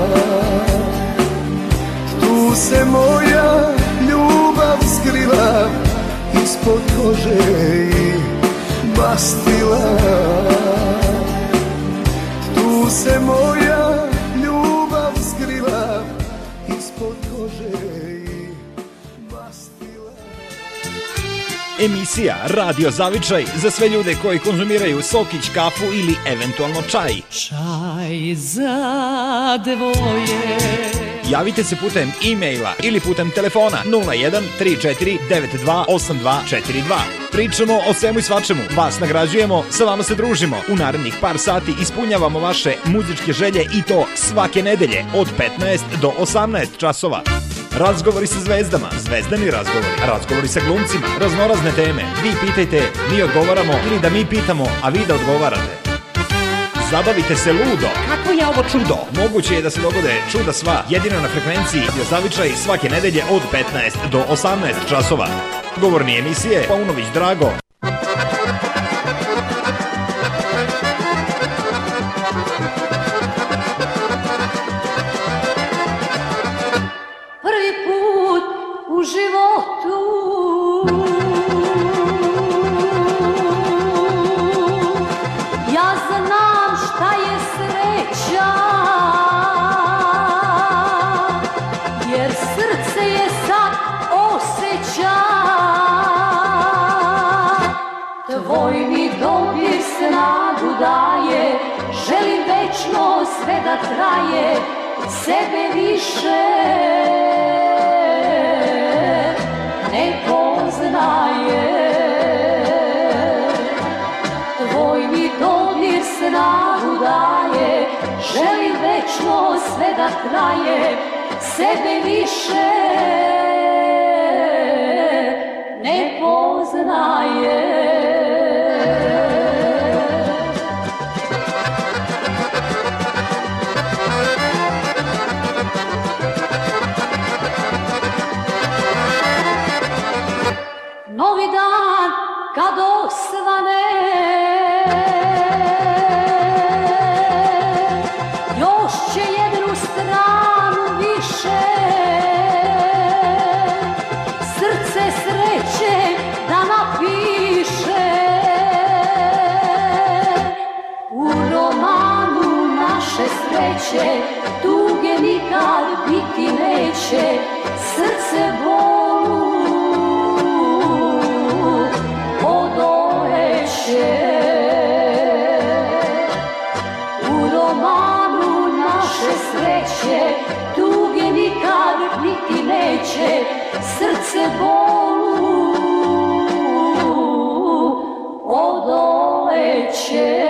T: Tu se moja ljubav skrila ispod kože i mastila. Tu se moja ljubav skrila ispod kože i mastila.
B: Emisija Radio Zavičaj za sve ljude koji konzumiraju sokić, kafu ili eventualno čaj.
K: Čaj za dvoje.
B: Javite se putem e-maila ili putem telefona nula jedan tri četiri devet dva osam dva četiri dva. Pričamo o svemu i svačemu, vas nagrađujemo, sa vama se družimo. U narednih par sati ispunjavamo vaše muzičke želje i to svake nedelje od petnaest do osamnaest časova. Razgovori sa zvezdama, zvezdani razgovori, razgovori sa glumcima, raznorazne teme. Vi pitajte, mi odgovaramo ili da mi pitamo, a vi da odgovarate. Zabavite se ludo. Kako je ovo čudo? Moguće je da se dogode čuda sva, jedino na frekvenciji Radio Zavičaj svake nedelje od petnaest do osamnaest časova. Govorni emisije Paunović Drago.
E: Prvi put u životu ja znam šta je sreća, jer srce je sad osjeća. Tvoj mi dobir snagu daje, želim večno sve da traje, sebe više ne poznaje. Tvoj mi dodir snagu daje, želim večno sve da traje, sebe više ne poznaje. Novi dan kad osvane, još će jednu stranu više, srce sreće da napiše. U romanu naše sreće tuge nikad biti neće, srce bolu u romanu naše sreće tuge nikad biti neće, srce bolu odoleće.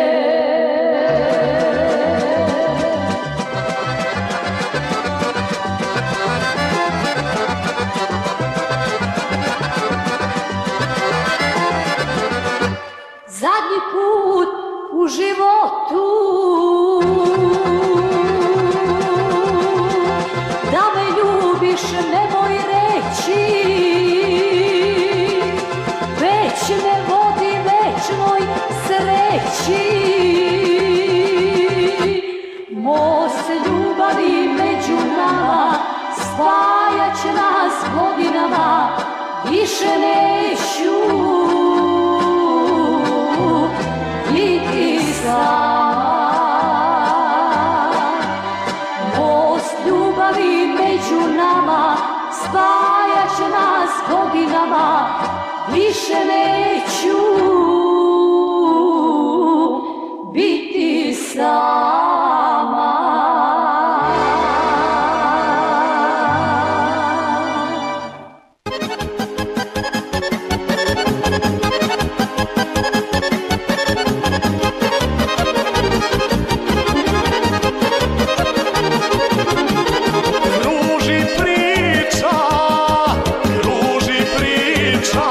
E: Zadnji put u životu da me ljubiš nemoj reći, već me vodi večnoj sreći. Most ljubavi među nama spajat će nas godinama, više neću biti sam. Most ljubavi među nama spajat će nas godinama, više ne sama.
I: Kruži priča, kruži priča,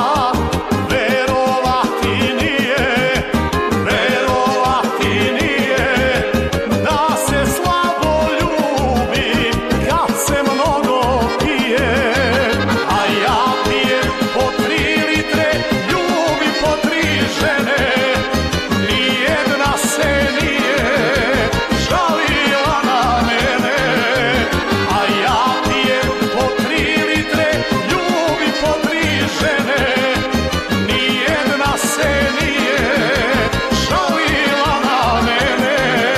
I: verovati nije, verovati nije, da se slabo ljubi kad se mnogo pije, a ja pijem po tri litre, ljubim po tri žene, nijedna se nije žalila na mene, a ja pijem po tri litre, ljubim po tri žene, nijedna se nije žalila na mene.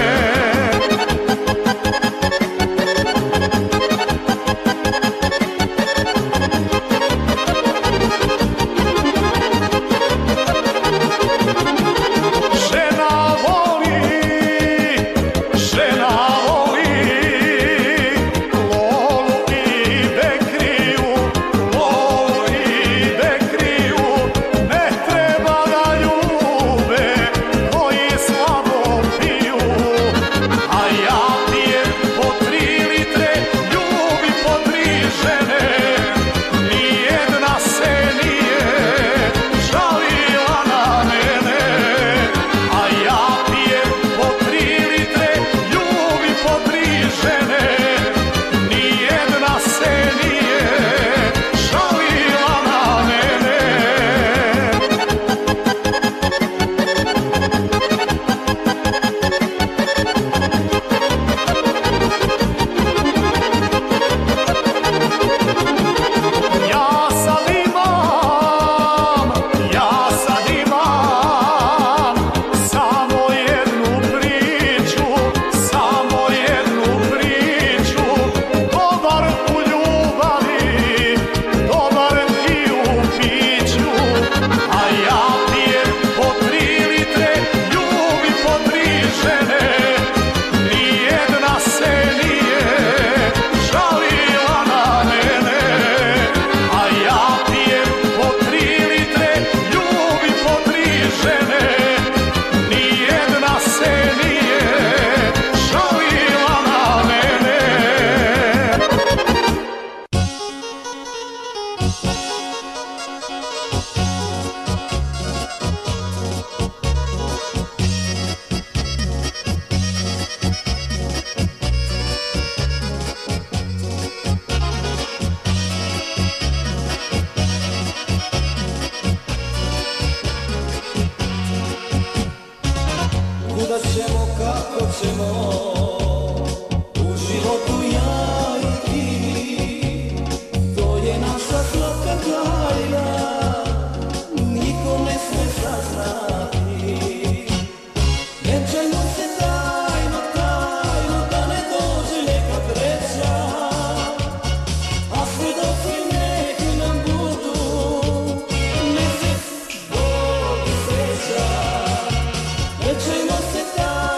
I: Žena voli, žena voli, lolu i bekriju, lolu i bekriju, ne treba da ljube koji slabo piju, a ja pijem po tri litre, ljubim po tri žene, nijedna se nije žalila na mene, a ja pijem po tri litre, ljubim po tri žene, nijedna se nije žalila na mene. Ja sad imam, ja sad imam samo jednu priču, samo jednu priču, dobar u ljubavi, dobar i u piću, a ja pijem po tri litre, ljubim po tri žene, nijedna se nije žalila na mene, a ja pijem po tri litre, ljubim po tri žene, nijedna se nije žalila na mene.
D: Kuda ćemo, kako ćemo, u životu ja i ti, to je naša slatka tajna, niko ne sme saznati. Nećemo se tajno, tajno, da ne dođe neka treća, a svedoci neki nam budu, mesec Bog seća. Nećemo se tajno,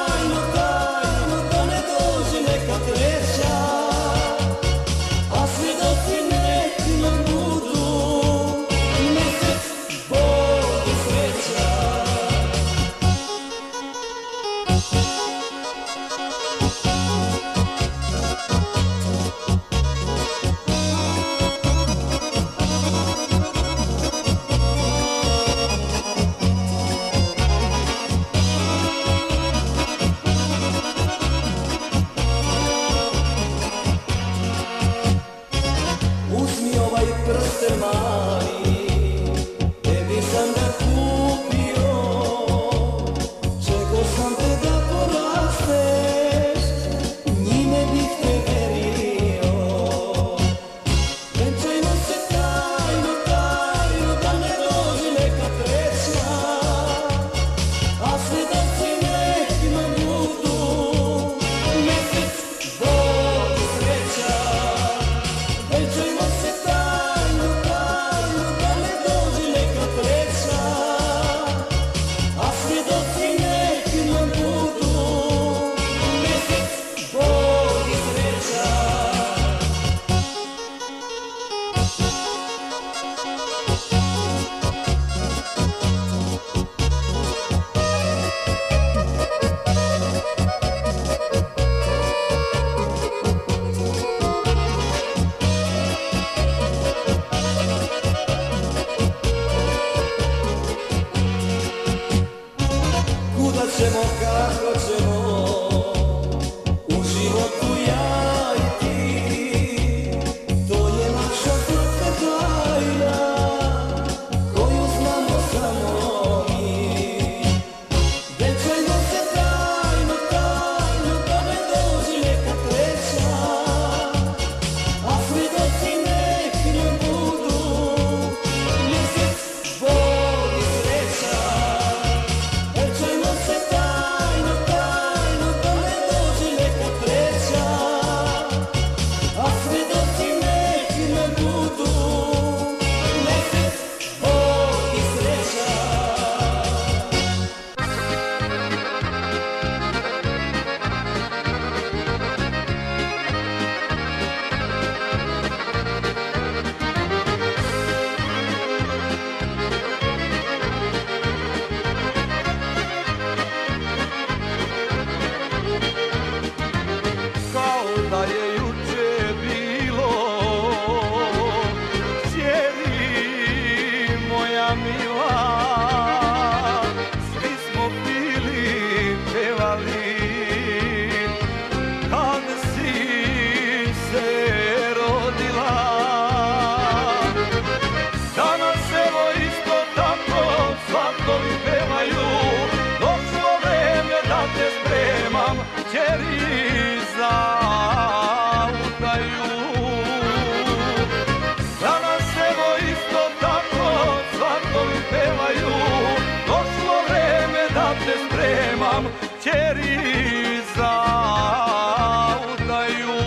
D: ćeri za udaju.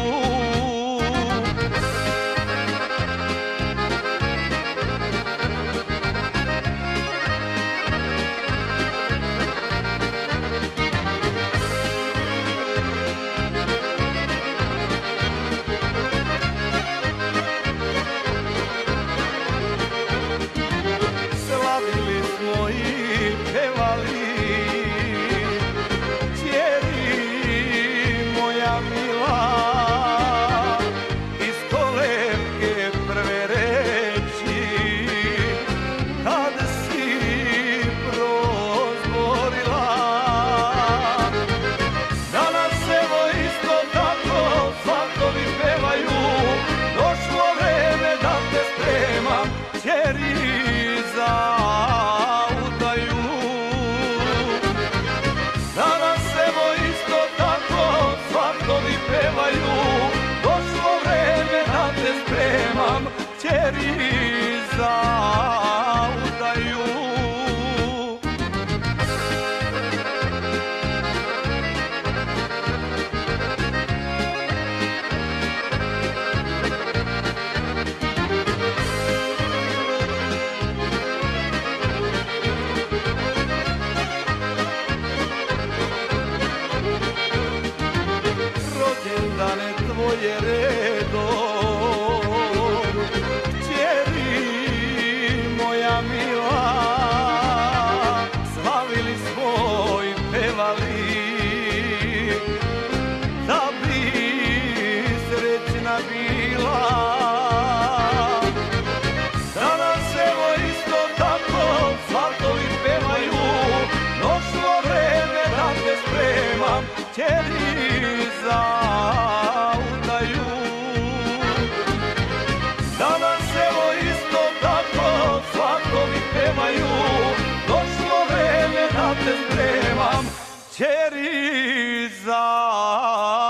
D: Slavili smo i pevali, ćeri moja mila, iz kolevke prve reći, kad si prozborila. Danas evo isto tako svatovi pevaju, došlo vreme da te spremam, ćeri za udaju. Danas evo isto tako svatovi pevaju, došlo vreme da te spremam, ćeri za udaju. Rođendane tvoje redom, ćeri moja mila, slavili smo i pevali, da bi srećna bila. Danas evo isto tako svatovi pevaju, došlo vreme da te spremam, ćeri za udaju. Danas evo isto tako svatovi pevaju, došlo vreme da te spremam, ćeri za